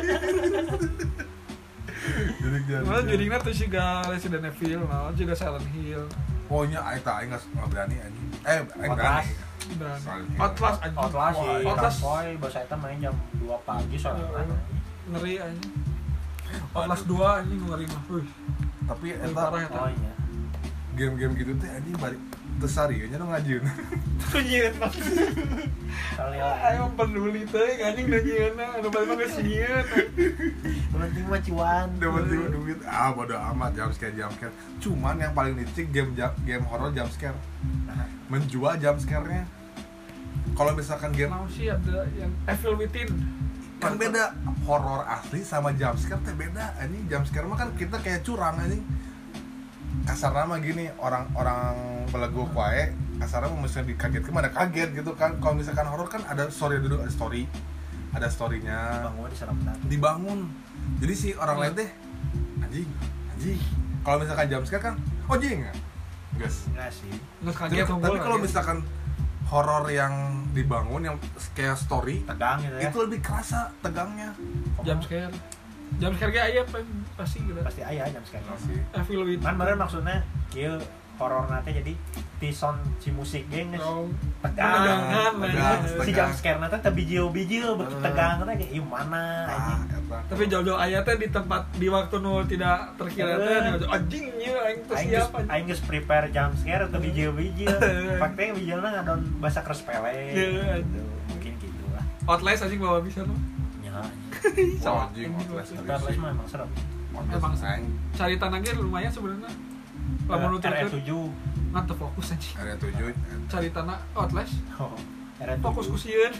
Jurik jarian Malah juriknya tuh juga Resident Evil, nah juga Silent Hill. pokoknya aing tak aing nggak berani anjing eh aing Outlast. berani Dan Silent Hill. Outlast anjing. Outlast sih, Wah, Outlast boy, bahasa eta main jam dua pagi soalnya. kan. ngeri anjing. Outlast dua anjing ngeri mah. Wih, tapi lebih eta parah eta. Oh iya. game-game gitu teh anjing balik tesari nya nu ngajieun Nyieun mah. Kali Ayo peduli teh anjing da nyieunna, anu balik mah geus nyieun. penting mah cuan. dapat duit ah bodo amat jump scare jump scare cuman yang paling licik game jam- game horror jump scare Nah, menjual jump scare-nya kalau misalkan game Kenapa sih ada yang Evil Within? kan beda horror asli sama jump scare teh beda anjing jump scare mah kan kita kayak curang anjing kasar nama gini orang-orang beleguk wae kasarnya mah mesti dikagetkan mana kaget gitu kan kalau misalkan horror kan ada story dulu ada story ada storynya bangun diserang benar. dibangun jadi si orang lain teh anjing anjing kalau misalkan jump scare kan oh jing guys Enggak sih. Nggak tapi kaget tapi kalau misalkan horor yang dibangun yang kayak story Tegang gitu ya. itu lebih kerasa tegangnya jump scare. Jump scare ge aya apa pasti gitu. Pasti aya jam sekarang. masih Evil Within. Kan bener maksudnya kieu horor nate jadi ti sound si musik geng geus Oh, tegang. tegangan, tegang, Si tegang. jam scare nate teh bijil-bijil beuki Hmm. tegang teh kayak ieu mana ah, anjing. eta. tapi jauh-jauh aya teh di tempat di waktu nu tidak terkira teh Eh. anjing nya aing teu Aing siap geus anjing. aing geus prepare jam scare teh bijil-bijil. Fakte bijilna ngadon bahasa kerspele. Iya, Gitu. Mungkin gitu lah. Outlast anjing bawa bisa mah. Ya. Wah, Sama anjing, anjing, Outlast Outlast. Kita les mah emang serem. Outlast Emang aing Cari tanah ge lumayan sebenarnya. Lamun nu R E terkeun tujuh. ngantep fokus anjing. area tujuh Cari tanah Outlast Oh, R E tujuh. fokus ku sieun.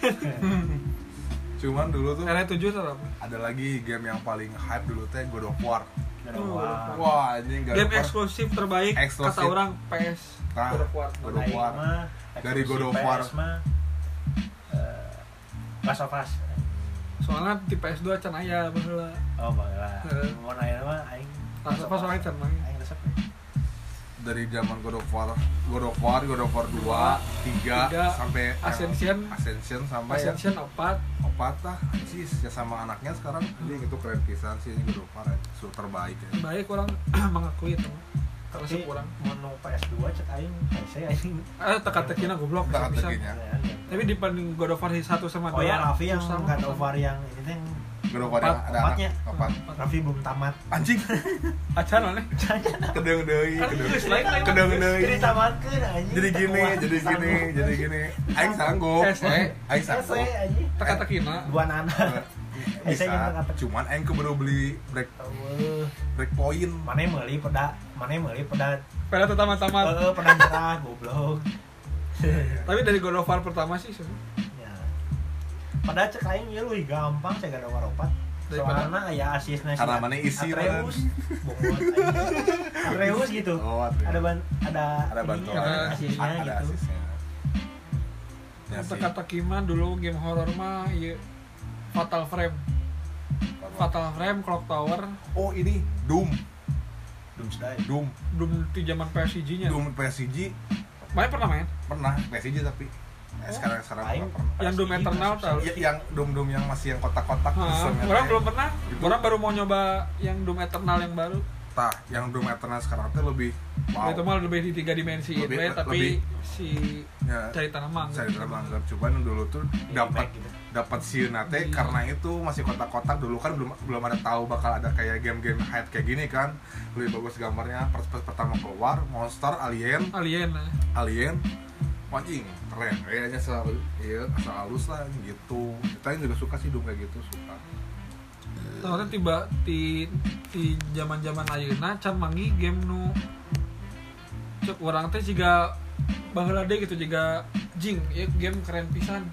cuman dulu tuh R tujuh teh apa? ada lagi game yang paling hype dulu teh God of War God of War. wah anjing God Game of War eksklusif terbaik Eksklusif. kata orang P S Nah, God of War. God of Aing War. mah Dari God of eksklusif War. P S mah eh, Last of Us. Soalnya di P S dua can aya baheula. Oh, baheula. Heeh. Mau nanya mah aing Last of Us soalnya can main. aing resep. dari zaman God of War God of War God of War dua tiga Tiga, sampai yang Ascension. Ascension sampai yang Ascension opat. opat lah anjis ya sama anaknya sekarang anjing itu keren pisan sih ini God of War su terbaik ya Baik orang mengakui itu. Terus Tapi kurang. mau P S dua cek aing P C aing. Eh teka-tekina goblok bisa bisa. Teka-tekinya. Tapi dibanding God of War satu sama Oh dua. ya Raffi yang susah God mah. of War yang ini teh God of War yang Opat- ada opatnya. anak opat Raffi belum tamat. anjing Acan aneh. kedeng deui Kan kedeng geus lain lain. kedeng deui Jadi tamatkeun anjing. jadi gini Tekuat, jadi gini sanggup. jadi gini aing sanggup S E. aing S sanggup E anjing. Teka-tekina. Dua anak. bisa Saya yang teka-teki. cuman aing keburu beli break Eueuh. break point Mana meuli peda, mana meuli peda. Pada tamat-tamat. Heeh, peda nyerah goblok. Tapi dari God of War pertama sih sebenarnya. Ya. Padahal cek aing ieu leuwih gampang cek God of War opat. Daripada- Soalna aya asisna si Karena mana isi, Atreus. Bongot anjing. Atreus gitu. Oh, Atreus. Ada ban ada ada bantuan ininya, Ada asisnya ada gitu. asisnya Ya sih. kata Kima dulu game horor mah ieu Fatal Frame. Fatal Frame, Clock Tower, Oh ini Doom, Doomsday. Doom, Doom di zaman P S G nya. Doom P S G Mana pernah main? pernah P S G tapi eh, sekarang sekarang Aing belum pernah. Yang Doom P S G Eternal masuk tahu. Ya, yang Doom Doom yang masih yang kotak-kotak. Hah, sistemnya orang teh. belum pernah. Itu- Orang baru mau nyoba yang Doom Eternal yang baru. Tah, yang Doom Eternal sekarang tuh lebih wow. Itu mah lebih di tiga dimensi Lebih- itu ya, tapi lebih- si Ya, cari tanah mangga. saya udah manggar cuman dulu tuh dapat gitu. dapat sieun teh Iya. karena itu masih kotak-kotak dulu kan belum belum ada tahu bakal ada kayak game-game hype kayak gini kan. Lebih bagus gambarnya pas, pas pertama keluar monster alien Alien lah. alien anjing keren kayaknya selalu iya asal halus lah gitu. Kita juga suka sih Doom kayak gitu suka. Soalnya tiba di di zaman-zaman ayeuna can manggi game nu cek urang teh jiga baheula deui gitu jiga Jing, ieu game keren pisan.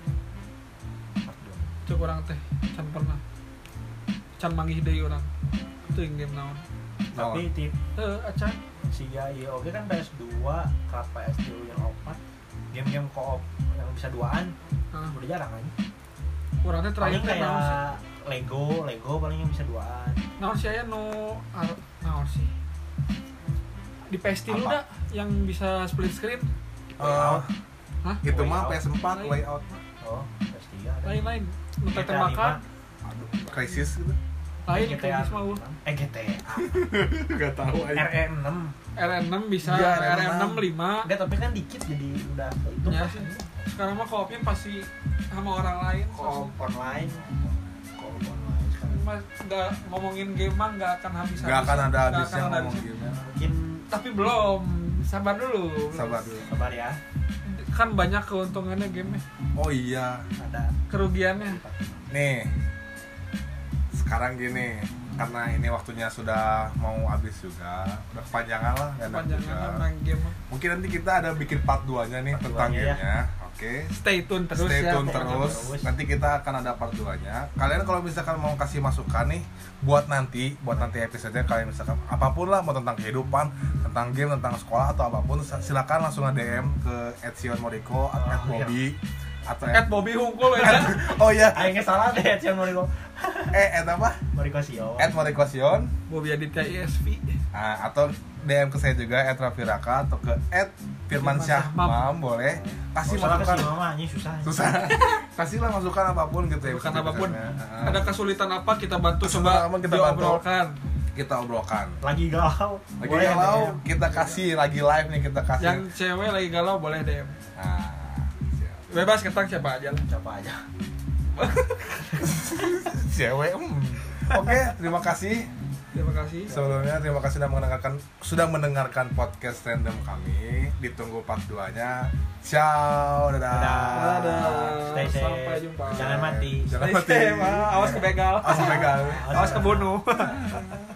Cek urang teh can pernah. Can manggih deui urang. Teuing game naon. Tapi tip Heuh, acan. si ya iya oke kan P S dua, kerat P S tiga yang opat, game-game co-op yang bisa duaan Heeh. udah jarang aja. Urang teh terakhir Paling teh naon sih? kayak Lego, Lego paling yang bisa duaan. Naon sih aya nu ar- naon sih? Di P S tiga Apa? dah yang bisa split screen. Eh, Hah? itu mah Layout. P S empat layout Oh, P S tiga ada. Lain-lain. Nu teh G T A tembakan. aduh crisis gitu. Lain G T A kayak mah uh. eh G T A Enggak tahu R E enam R enam bisa, Iya, R enam lima. enggak tapi kan dikit jadi udah itu Ya sih. Sekarang mah koopnya pasti sama orang lain. co-op online co-op online sekarang. Mas nggak ngomongin game mah nggak akan habis. Enggak akan ada habisnya akan ada ngomong habisnya. game. mungkin Tapi belum. Sabar dulu. Sabar dulu. sabar ya Kan banyak keuntungannya game Oh iya. ada kerugiannya. Nih, sekarang gini, karena ini waktunya sudah mau habis juga, udah kepanjangan lah, nggak enak juga. Kepanjangan main game. Mungkin nanti kita ada bikin part dua-nya nih Part tentang duanya ya. gamenya, oke? Stay tune terus Stay ya. tune pokoknya. terus. terus. Nanti kita akan ada part dua-nya. Kalian kalau misalkan mau kasih masukan nih, buat nanti, buat nanti episode-nya kalian misalkan apapun lah, mau tentang kehidupan, tentang game, tentang sekolah atau apapun, silakan langsung nge-D M ke at sion moriko, at Oh, bobby, atau Ed Bobby Hungkul ya. oh iya, aingnya salah deh Cian Moriko eh at apa? Moriko Sio At moriko sion. Bobby Aditya I S V. Nah, atau D M ke saya juga at Raffi Raka atau ke at Firman Syah Mam boleh kasih Masalah masukan ke si mama ini susah susah kasihlah masukan apapun gitu ya Bukan apapun. episode-episodenya. Ada kesulitan apa kita bantu Kesulitan coba apa kita bantu. diobrolkan. Kita obrolkan lagi galau lagi Boleh galau D M. kita kasih lagi live nih kita kasih Yang cewek lagi galau boleh D M. nah, siap. Bebas ketang siapa aja lah. coba aja cewek hmm. Oke terima kasih Terima kasih. sebelumnya terima kasih sudah mendengarkan sudah mendengarkan podcast random kami ditunggu part dua-nya ciao dadah, Dadah. Dadah. Stay safe. Sampai jumpa. Jangan mati. Jangan Stay mati. safe, ah. Awas kebegal. Awas kebegal. Awas kebunuh.